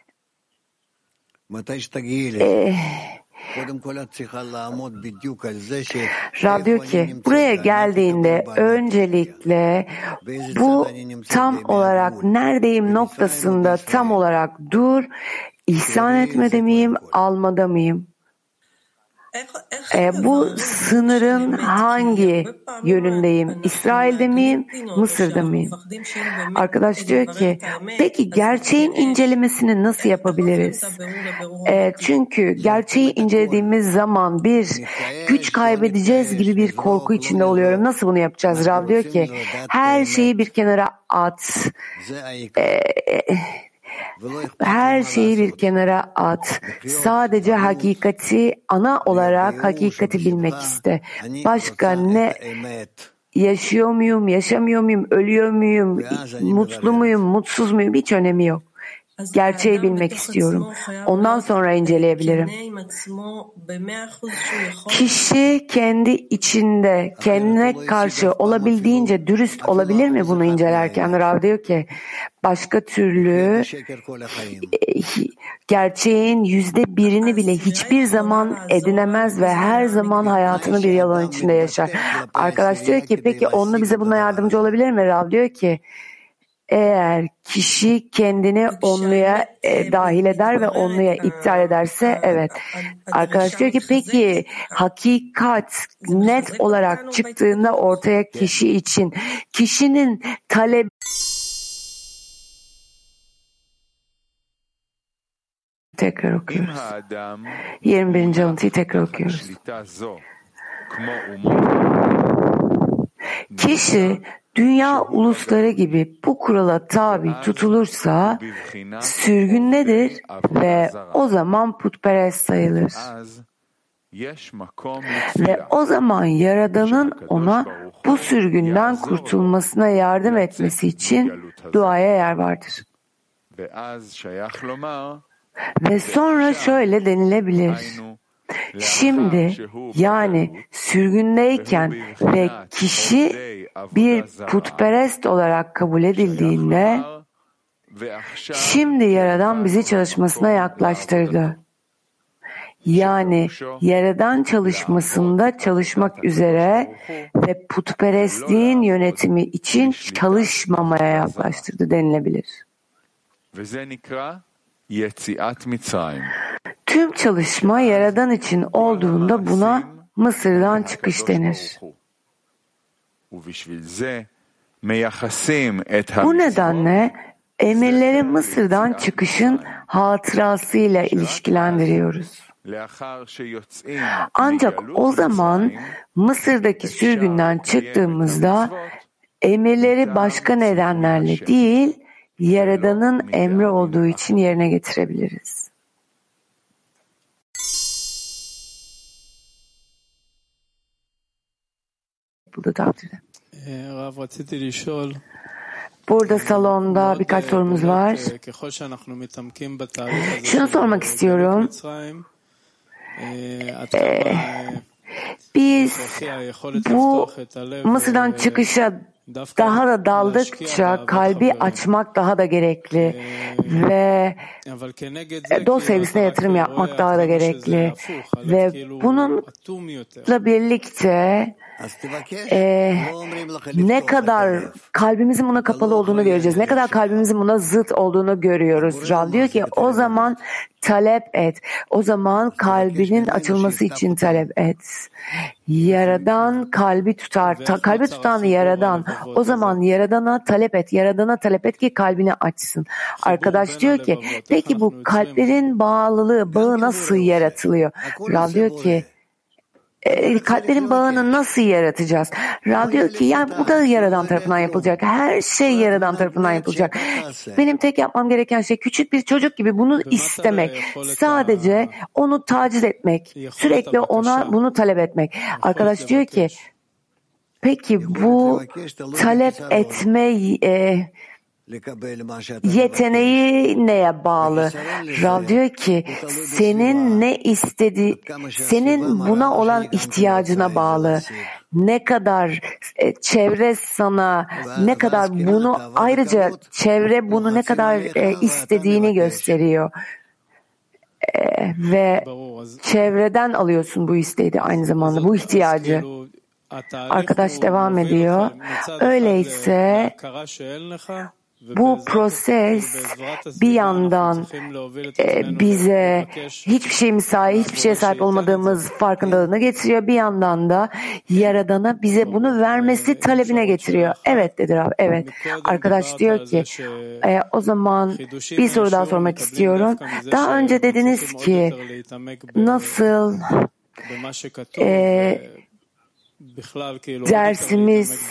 Rav diyor ki buraya geldiğinde öncelikle bu tam olarak neredeyim noktasında tam olarak dur. İhsan etmede miyim, almada mıyım? Bu sınırın hangi yönündeyim? İsrail'de miyim, Mısır'da mıyım? Arkadaş diyor ki, peki gerçeğin incelemesini nasıl yapabiliriz? Çünkü gerçeği incelediğimiz zaman bir güç kaybedeceğiz gibi bir korku içinde oluyorum. Nasıl bunu yapacağız? Rav diyor ki, her şeyi bir kenara at. Her şeyi bir kenara at. Sadece hakikati, ana olarak hakikati bilmek iste. Başka ne, yaşıyor muyum, yaşamıyor muyum, ölüyor muyum, mutlu muyum, mutsuz muyum, hiç önemi yok. Gerçeği bilmek istiyorum. Ondan sonra inceleyebilirim. Kişi kendi içinde kendine karşı olabildiğince dürüst olabilir mi bunu incelerken? Rav diyor ki başka türlü gerçeğin %1'ini bile hiçbir zaman edinemez ve her zaman hayatını bir yalan içinde yaşar. Arkadaş diyor ki peki onunla bize buna yardımcı olabilir mi? Rav diyor ki eğer kişi kendini onluya dahil eder ve onluya iptal ederse evet. Arkadaş diyor ki peki hakikat net olarak çıktığında ortaya kişi için kişinin talep Tekrar okuyoruz. 21. alıntıyı tekrar okuyoruz. Kişi dünya ulusları gibi bu kurala tabi tutulursa sürgündedir ve o zaman putperest sayılır. Ve o zaman Yaradan'ın ona bu sürgünden kurtulmasına yardım etmesi için duaya yer vardır. Ve sonra şöyle denilebilir. Şimdi yani sürgündeyken ve kişi bir putperest olarak kabul edildiğinde şimdi Yaradan bizi çalışmasına yaklaştırdı. Yani Yaradan çalışmasında çalışmak üzere ve putperestliğin yönetimi için çalışmamaya yaklaştırdı denilebilir. Tüm çalışma Yaradan için olduğunda buna Mısır'dan çıkış denir. Bu nedenle emirleri Mısır'dan çıkışın hatırasıyla ilişkilendiriyoruz. Ancak o zaman Mısır'daki sürgünden çıktığımızda emirleri başka nedenlerle değil, Yaradan'ın emri olduğu için yerine getirebiliriz. Burada takdirde. Burada salonda birkaç sorumuz var. Şunu sormak istiyorum. Biz bu Mısır'dan çıkışa daha da daldıkça kalbi açmak daha da gerekli ve dost sevgisine yatırım yapmak daha da gerekli ve bununla birlikte ne kadar kalbimizin buna kapalı olduğunu göreceğiz. Ne kadar kalbimizin buna zıt olduğunu görüyoruz. Rav diyor ki o zaman talep et. O zaman kalbinin açılması için talep et. Yaradan kalbi tutar. Kalbi tutan Yaradan. O zaman Yaradan'a talep et. Yaradan'a talep et ki kalbini açsın. Arkadaş diyor ki peki bu kalplerin bağı nasıl yaratılıyor? Rav diyor ki kalplerin bağını nasıl yaratacağız? Rav diyor ki yani bu da Yaradan tarafından yapılacak. Her şey Yaradan tarafından yapılacak. Benim tek yapmam gereken şey küçük bir çocuk gibi bunu istemek. Sadece onu taciz etmek. Sürekli ona bunu talep etmek. Arkadaş diyor ki peki bu talep etme yeteneği neye bağlı? Rav diyor ki senin ne senin buna olan ihtiyacına bağlı. Ne kadar çevre sana ne kadar bunu ayrıca çevre bunu ne kadar istediğini gösteriyor. Ve çevreden alıyorsun bu isteği de aynı zamanda bu ihtiyacı. Arkadaş devam ediyor. Öyleyse bu proses bir yandan bize hiçbir şeye sahip olmadığımız farkındalığına getiriyor. Bir yandan da Yaradan'a bize bunu vermesi talebine getiriyor. Evet dedi Rab, evet. Arkadaş diyor ki o zaman bir soru daha sormak istiyorum. Daha önce dediniz ki nasıl dersimiz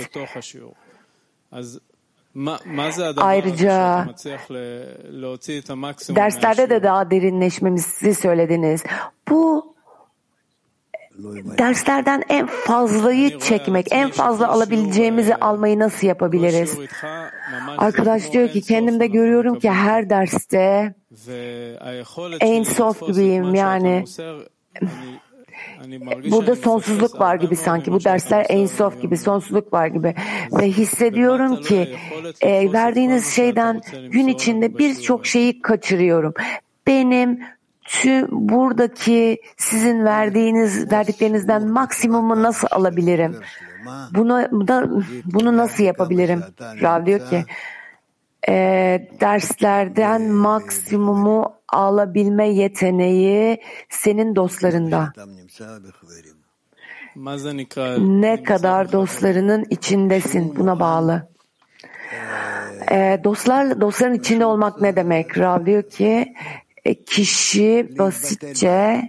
ayrıca derslerde de daha derinleşmemizi söylediniz. Bu derslerden en fazlayı çekmek, en fazla alabileceğimizi almayı nasıl yapabiliriz? Arkadaş diyor ki kendimde görüyorum ki her derste Ein Sof gibiyim yani. Burada sonsuzluk var gibi sanki. Bu dersler Ein Sof gibi, sonsuzluk var gibi. Ve hissediyorum ki verdiğiniz şeyden gün içinde birçok şeyi kaçırıyorum. Benim buradaki sizin verdiklerinizden maksimumu nasıl alabilirim? Bunu nasıl yapabilirim? Rav diyor ki derslerden maksimumu alabilme yeteneği senin dostlarında. Ne dostlarının içindesin buna bağlı. Dostların içinde olmak ne demek? Rav diyor ki kişi basitçe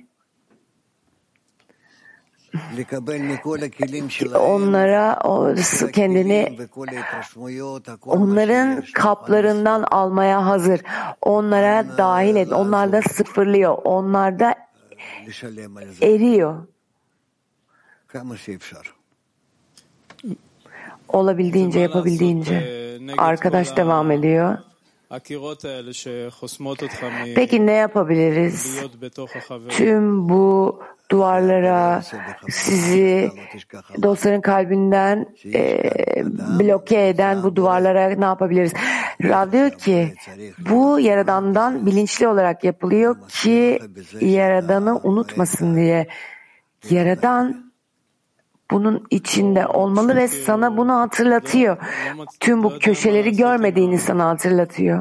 onlara kendini onların kaplarından almaya hazır. Onlara dahil et. Onlar da sıfırlıyor. Onlar da eriyor. Olabildiğince, yapabildiğince. Arkadaş devam ediyor. Peki ne yapabiliriz? Tüm bu duvarlara sizi dostların kalbinden bloke eden bu duvarlara ne yapabiliriz? Rav diyor ki bu Yaradan'dan bilinçli olarak yapılıyor ki Yaradan'ı unutmasın diye. Yaradan bunun içinde olmalı ve sana bunu hatırlatıyor. Tüm bu köşeleri görmediğini sana hatırlatıyor.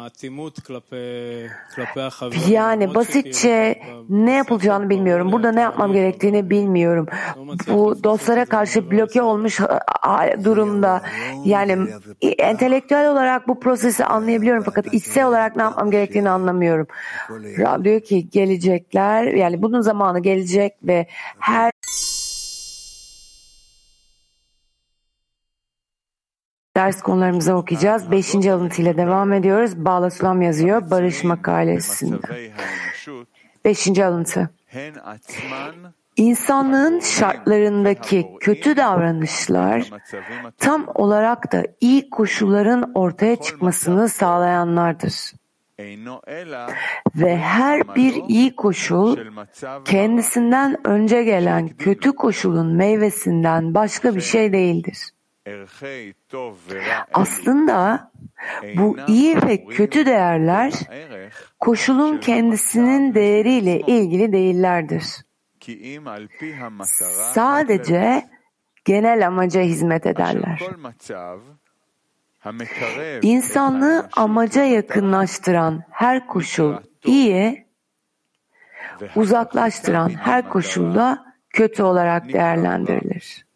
Yani basitçe ne yapılacağını bilmiyorum. Burada ne yapmam gerektiğini bilmiyorum. Bu dostlara karşı bloke olmuş durumda. Yani entelektüel olarak bu prosesi anlayabiliyorum fakat içsel olarak ne yapmam gerektiğini anlamıyorum. Rab diyor ki gelecekler, yani bunun zamanı gelecek ve her ders konularımıza okuyacağız. 5. alıntıyla devam ediyoruz. Bağla Sulam yazıyor Barış makalesinde. 5. alıntı. İnsanlığın şartlarındaki kötü davranışlar tam olarak da iyi koşulların ortaya çıkmasını sağlayanlardır. Ve her bir iyi koşul kendisinden önce gelen kötü koşulun meyvesinden başka bir şey değildir. Aslında bu iyi ve kötü değerler koşulun kendisinin değeriyle ilgili değillerdir. Sadece genel amaca hizmet ederler. İnsanlığı amaca yakınlaştıran her koşul iyi, uzaklaştıran her koşulda kötü olarak değerlendirilir.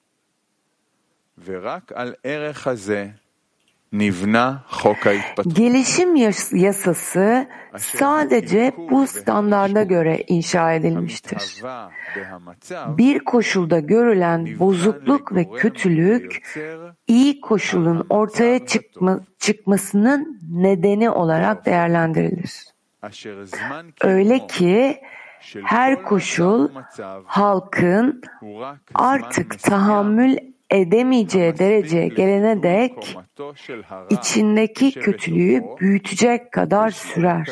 Gelişim yasası sadece bu standarda göre inşa edilmiştir. Bir koşulda görülen bozukluk ve kötülük iyi koşulun ortaya çıkmasının nedeni olarak değerlendirilir. Öyle ki her koşul halkın artık tahammül edemeyeceği dereceye gelene dek içindeki kötülüğü büyütecek kadar sürer.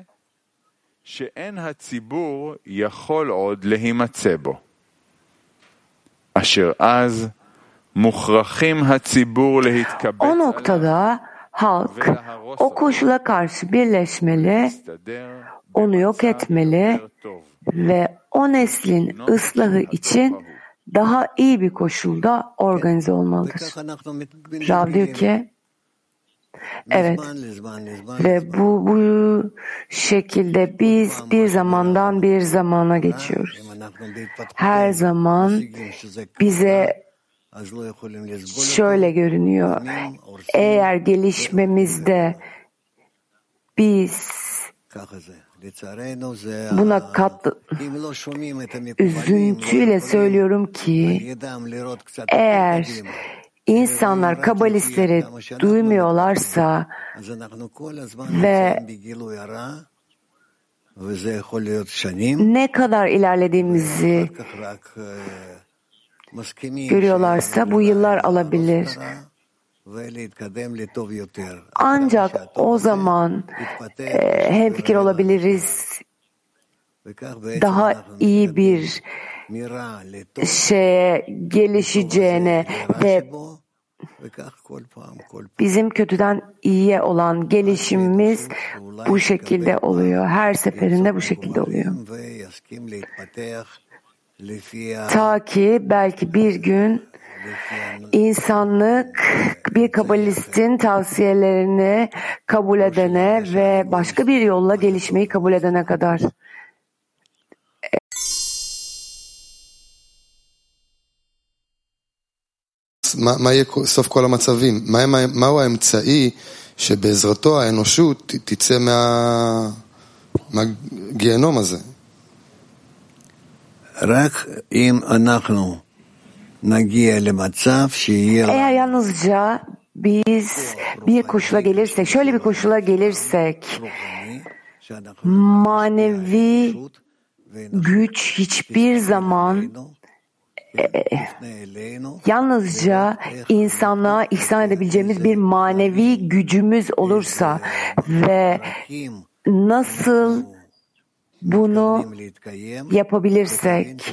O noktada halk o koşula karşı birleşmeli, onu yok etmeli ve o neslin ıslahı için daha iyi bir koşulda organize olmalıdır. Rav diyor ki, evet ve bu şekilde biz bir zamandan bir zamana geçiyoruz. Her zaman bize şöyle görünüyor. Eğer gelişmemizde biz buna üzüntüyle söylüyorum ki eğer insanlar kabalistleri duymuyorlarsa ve ne kadar ilerlediğimizi görüyorlarsa bu yıllar alabilir. Ancak o zaman hemfikir olabiliriz, daha iyi bir şeye gelişeceğine ve bizim kötüden iyiye olan gelişimimiz bu şekilde oluyor. Her seferinde bu şekilde oluyor. Ta ki belki bir gün insanlık bir kabalistin tavsiyelerini kabul edene ve başka bir yolla gelişmeyi kabul edene kadar. מה יהיה סוף כל המצבים? מהו האמצעי שבעזרתו האנושות תצא מהגיהנום הזה. Eğer yalnızca biz bir koşula gelirsek, şöyle bir koşula gelirsek, manevi güç hiçbir zaman yalnızca insanlığa ihsan edebileceğimiz bir manevi gücümüz olursa ve nasıl bunu yapabilirsek,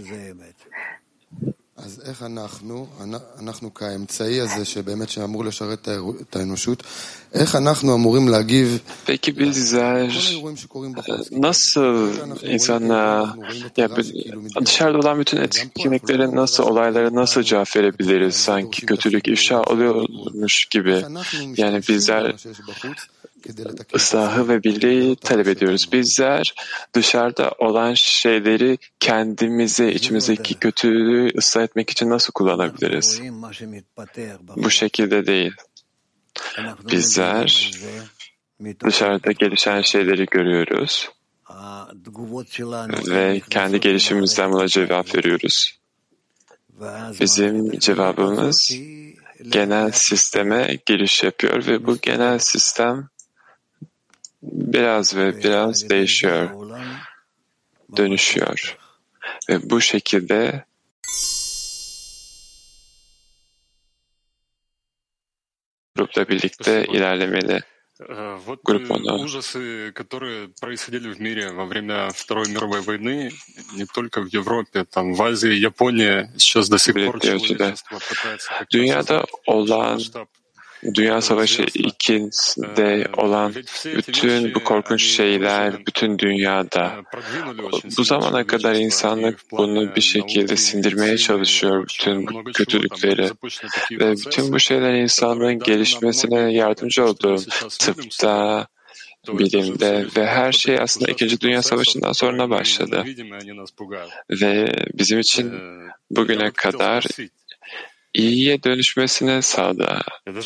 אז איך אנחנו כאמצעי הזה שבאמת שאמור לשרת את האנושות, איך אנחנו אמורים להגיב? Peki bizler nasıl insanlığa, dışarıda olan bütün etkinliklerin nasıl, olaylara nasıl cevap verebiliriz? Sanki kötülük ifşa oluyormuş gibi. Yani bizler ıslahı ve birliği talep ediyoruz. Bizler dışarıda olan şeyleri kendimize, içimizdeki kötülüğü ıslah etmek için nasıl kullanabiliriz? Bu şekilde değil. Bizler dışarıda gelişen şeyleri görüyoruz ve kendi gelişimimizden buna cevap veriyoruz. Bizim cevabımız genel sisteme giriş yapıyor ve bu genel sistem biraz değişiyor, dönüşüyor. Ve bu şekilde grupla birlikte ilerlemeli. Grup onu. Ужасы, которые происходили в мире во время Второй мировой войны, не только в Европе, там в Азии, Японии, сейчас до сих пор человечество пытается как-то Dünyada olan Dünya Savaşı 2'de olan bütün bu korkunç şeyler, bütün dünyada, bu zamana kadar insanlık bunu bir şekilde sindirmeye çalışıyor, bütün bu kötülükleri. Ve bütün bu şeyler insanlığın gelişmesine yardımcı oldu. Tıpta, bilimde ve her şey aslında 2. Dünya Savaşı'ndan sonra başladı. Ve bizim için bugüne kadar iyiye dönüşmesine sağladı.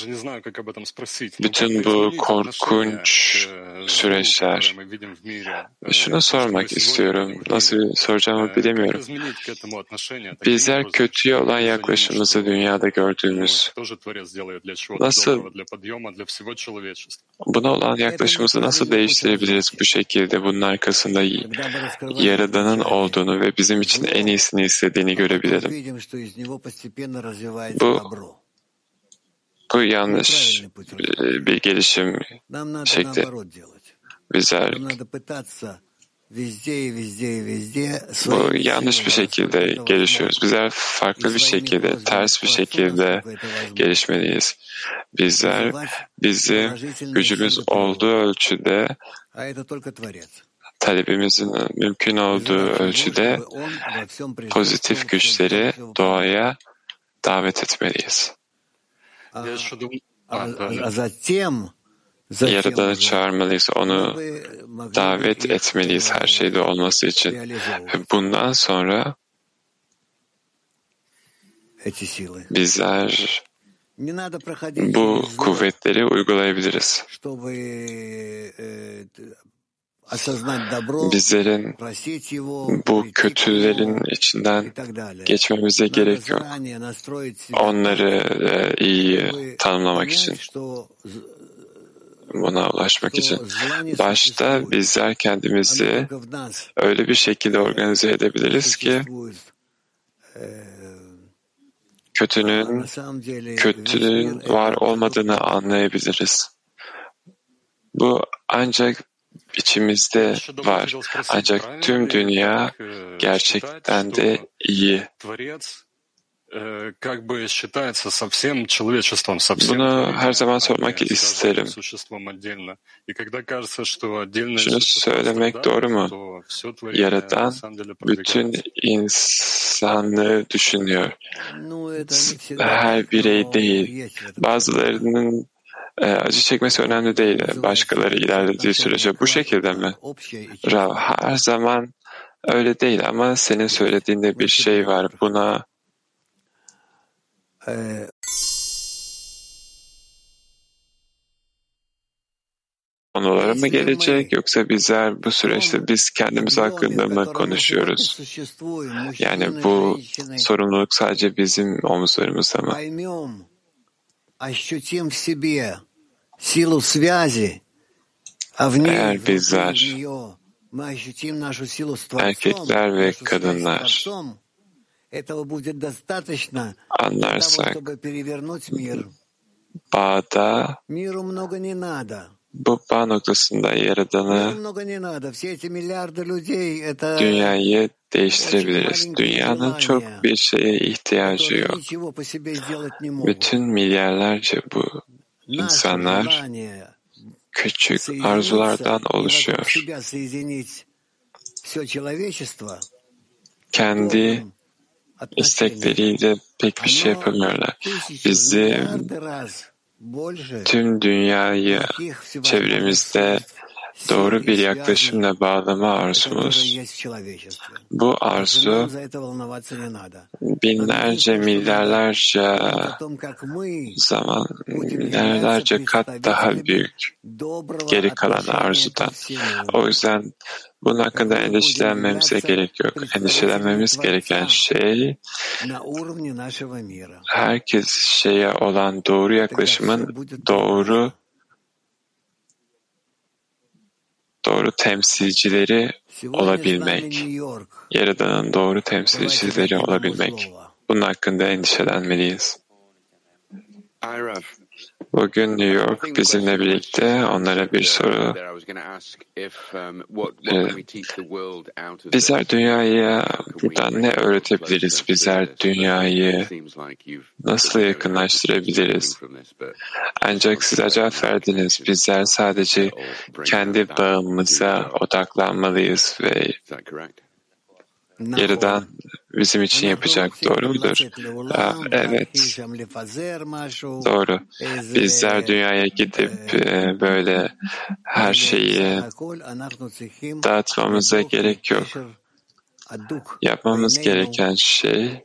Bütün bu korkunç süreçler. Şunu sormak istiyorum. Nasıl soracağımı bilemiyorum. Bizler kötüye olan yaklaşımımızı dünyada gördüğümüz, nasıl buna olan yaklaşımımızı nasıl değiştirebiliriz bu şekilde? Bunun arkasında Yaradan'ın olduğunu ve bizim için en iyisini istediğini görebilirim. Bu yanlış bir gelişim şekli. Bizler bu yanlış bir şekilde gelişiyoruz. Bizler farklı bir şekilde, ters bir şekilde gelişmeliyiz. Bizler bizim gücümüz olduğu ölçüde, talebimizin mümkün olduğu ölçüde pozitif güçleri doğaya davet etmeliyiz. Yaradan'ı çağırmalıyız, onu davet etmeliyiz her şeyde olması için. Ve bundan sonra bizler bu kuvvetleri uygulayabiliriz. Bizlerin bu kötülerin içinden geçmemize gerek yok. Onları iyi tanımlamak için, buna ulaşmak için. Başta bizler kendimizi öyle bir şekilde organize edebiliriz ki kötülüğün var olmadığını anlayabiliriz. Bu ancak içimizde var. Ancak tüm dünya gerçekten de iyi. Bunu her zaman sormak isterim. Şunu söylemek doğru mu? Yaradan bütün insanlığı düşünüyor. Her birey değil. Bazılarının acı çekmesi önemli değil. Başkaları ilerlediği sürece bu şekilde mi? Rav, her zaman öyle değil ama senin söylediğinde bir şey var. Buna konulara mı gelecek, yoksa bizler bu süreçte biz kendimiz hakkında mı konuşuyoruz? Yani bu sorumluluk sadece bizim omuzlarımızda mı? Eğer bizler, erkekler ve kadınlar anlarsak, bağda, bu bağ noktasında Yaradan'ı, dünyayı değiştirebiliriz. Dünyanın çok bir şeye ihtiyacı yok. Bütün milyarlarca bu insanlar küçük arzulardan oluşuyor. Kendi istekleriyle pek bir şey yapamıyorlar. Bizim tüm dünyayı çevremizde doğru bir yaklaşımla bağlama arzumuz. Bu arzu binlerce, milyarlarca zaman, milyarlarca kat daha büyük geri kalan arzudan. O yüzden bunun hakkında endişelenmemize gerek yok. Endişelenmemiz gereken şey, herkes şeye olan doğru yaklaşımın doğru temsilcileri olabilmek. Yaradan'ın doğru temsilcileri olabilmek. Bunun hakkında endişelenmeliyiz. Bugün New York bizimle birlikte, onlara bir soru. Bizler dünyaya buradan ne öğretebiliriz? Bizler dünyayı nasıl yakınlaştırabiliriz? Ancak siz cevap verdiniz. Bizler sadece kendi bağımıza odaklanmalıyız ve Yaradan bizim için yapacak. Doğru mudur? Evet. Doğru. Bizler dünyaya gidip böyle her şeyi dağıtmamıza gerek yok. Yapmamız gereken şey,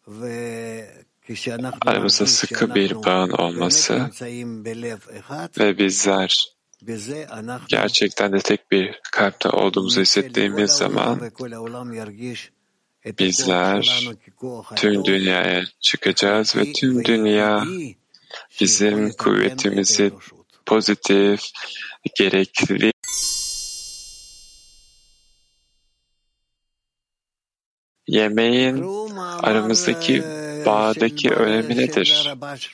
aramızda sıkı bir bağın olması ve bizler gerçekten de tek bir kalpte olduğumuzu hissettiğimiz zaman bizler tüm dünyaya çıkacağız ve tüm dünya bizim kuvvetimizi pozitif, gerekli yemeğin aramızdaki bağdaki önemi nedir?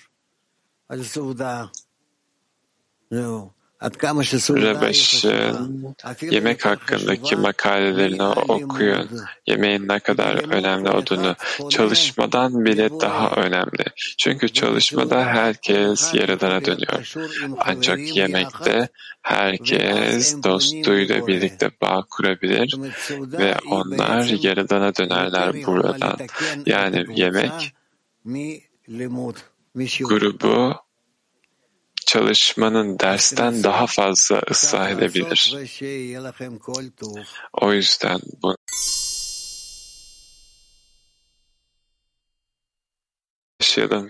Rabaş'ın yemek hakkındaki makalelerini okuyun. Yemeğin ne kadar önemli olduğunu, çalışmadan bile daha önemli. Çünkü çalışmada herkes Yaradan'a dönüyor. Ancak yemekte herkes dostuyla birlikte bağ kurabilir ve onlar Yaradan'a dönerler buradan. Yani yemek grubu çalışmanın dersten daha fazla ıslah edebilir. O yüzden bunu yaşayalım.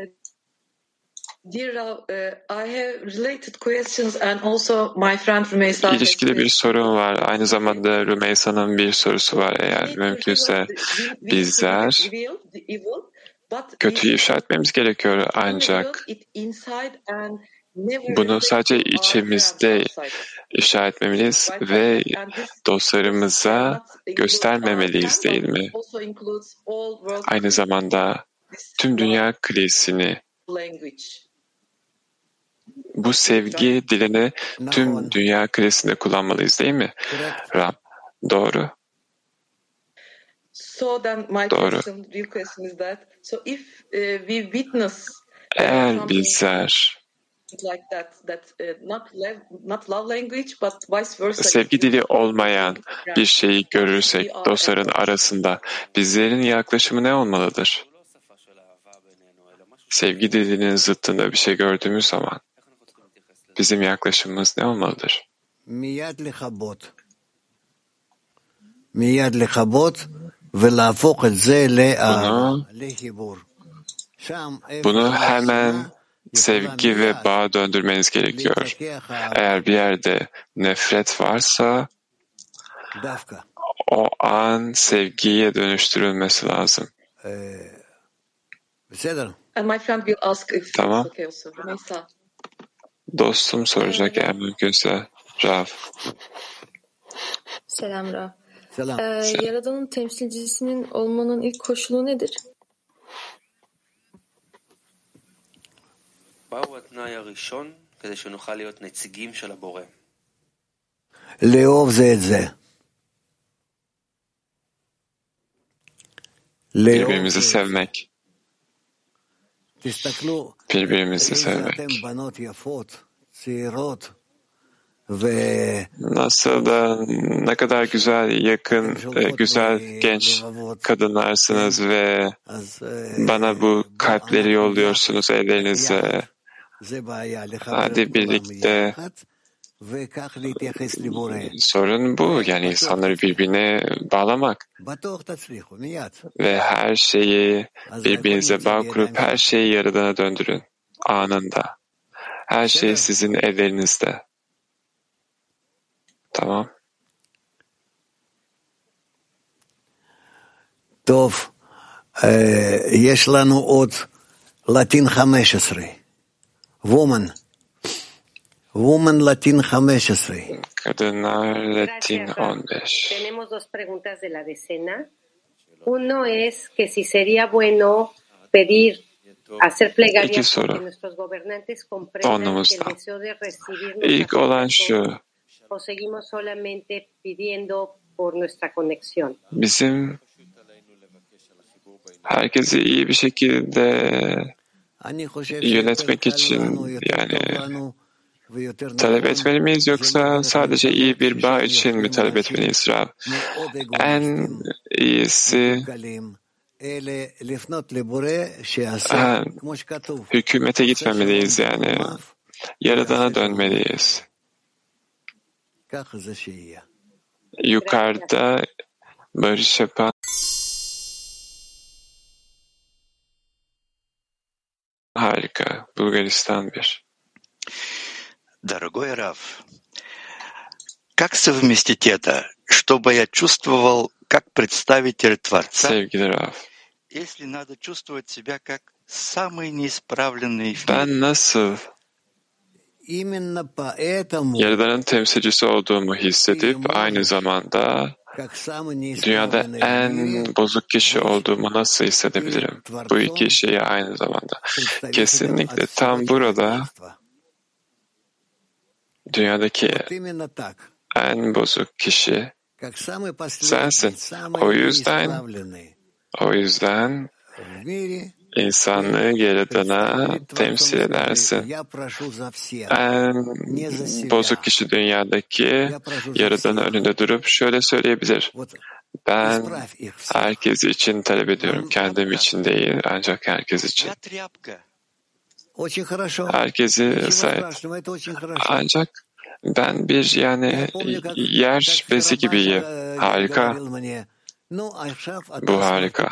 İlişkili bir sorun var. Aynı zamanda Rümeysa'nın bir sorusu var. Eğer mümkünse bizler kötüyü ifşa etmemiz gerekiyor, ancak bunu sadece içimizde ifşa etmemeliyiz ve dostlarımıza göstermemeliyiz, değil mi? Aynı zamanda tüm dünya kilisini, bu sevgi dilini tüm dünya kilisinde kullanmalıyız, değil mi? Rab, doğru. Doğru. Eğer bizler sevgi dili olmayan bir şeyi görürsek dostların arasında, bizlerin yaklaşımı ne olmalıdır? Sevgi dilinin zıttında bir şey gördüğümüz zaman bizim yaklaşımımız ne olmalıdır? Bunu hemen sevgi ve bağ döndürmeniz gerekiyor. Eğer bir yerde nefret varsa o an sevgiye dönüştürülmesi lazım. Tamam. Dostum soracak eğer mümkünse. Rav. Selam Rav. Yaradan'ın temsilcisinin olmanın ilk koşulu nedir? לאהוב זה את זה. Birbirimizi sevmek. תסתכלו, Birbirimizi איזה sevmek. אתם בנות יפות, צעירות, Nasıl da ne kadar güzel, yakın, güzel genç kadınlarsınız ve bana bu kalpleri yolluyorsunuz ellerinizle. Hadi birlikte. Sorun bu, yani insanları birbirine bağlamak ve her şeyi birbirinize bağ kurup her şeyi Yaradan'a döndürün anında. Her şey sizin ellerinizde. Tamam. טוב, יש לנו עוד לטין 15. Woman Latin 15. Kadınlar Latin 15. Tenemos dos preguntas de la decena. Uno es que si sería bueno pedir, hacer plegarias para que nuestros gobernantes comprendan que el deseo de recibirnos İlk olan şu. o seguimos solamente pidiendo por nuestra conexión. Bizim herkesi iyi bir şekilde yönetmek için yani talep etmeli miyiz yoksa sadece iyi bir bağ için mi talep etmeliyiz Rab? En iyisi hükümete gitmemeliyiz yani. Yaradan'a dönmeliyiz. Yukarıda barış yapan harika. Bulgaristan 1. Дорогой Рав, как совместить это, чтобы я чувствовал как представитель Творца, если надо чувствовать себя как самый неисправленный в мире? Ben nasıl Yaradan'ın temsilcisi olduğumu hissedip aynı zamanda dünyada en bozuk kişi olduğumu nasıl hissedebilirim? Bu iki şeyi aynı zamanda. Kesinlikle tam burada dünyadaki en bozuk kişi sensin. O yüzden insanlığı Yaradan'a temsil edersin. En bozuk kişi dünyadaki Yaradan'ın önünde durup şöyle söyleyebilir. Ben herkes için talep ediyorum. Kendim için değil, ancak herkes için. Herkesi sahip. Ancak ben bir yani yer bezi gibiyim. Harika. Bu harika.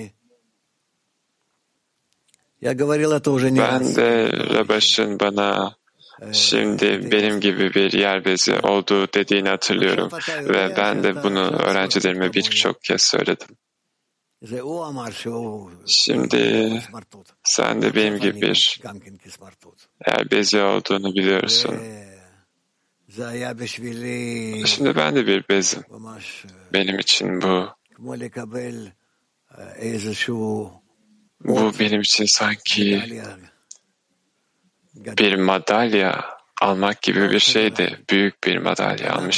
Ben de Rabaş'ın bana şimdi benim gibi bir yer bezi olduğu dediğini hatırlıyorum ve ben de bunu öğrencilerime birçok kez söyledim. Şimdi sen de benim gibi bir yer bezi olduğunu biliyorsun. Şimdi ben de bir bezim. Benim için bu benim için sanki bir madalya almak gibi bir şeydi. Büyük bir madalya almış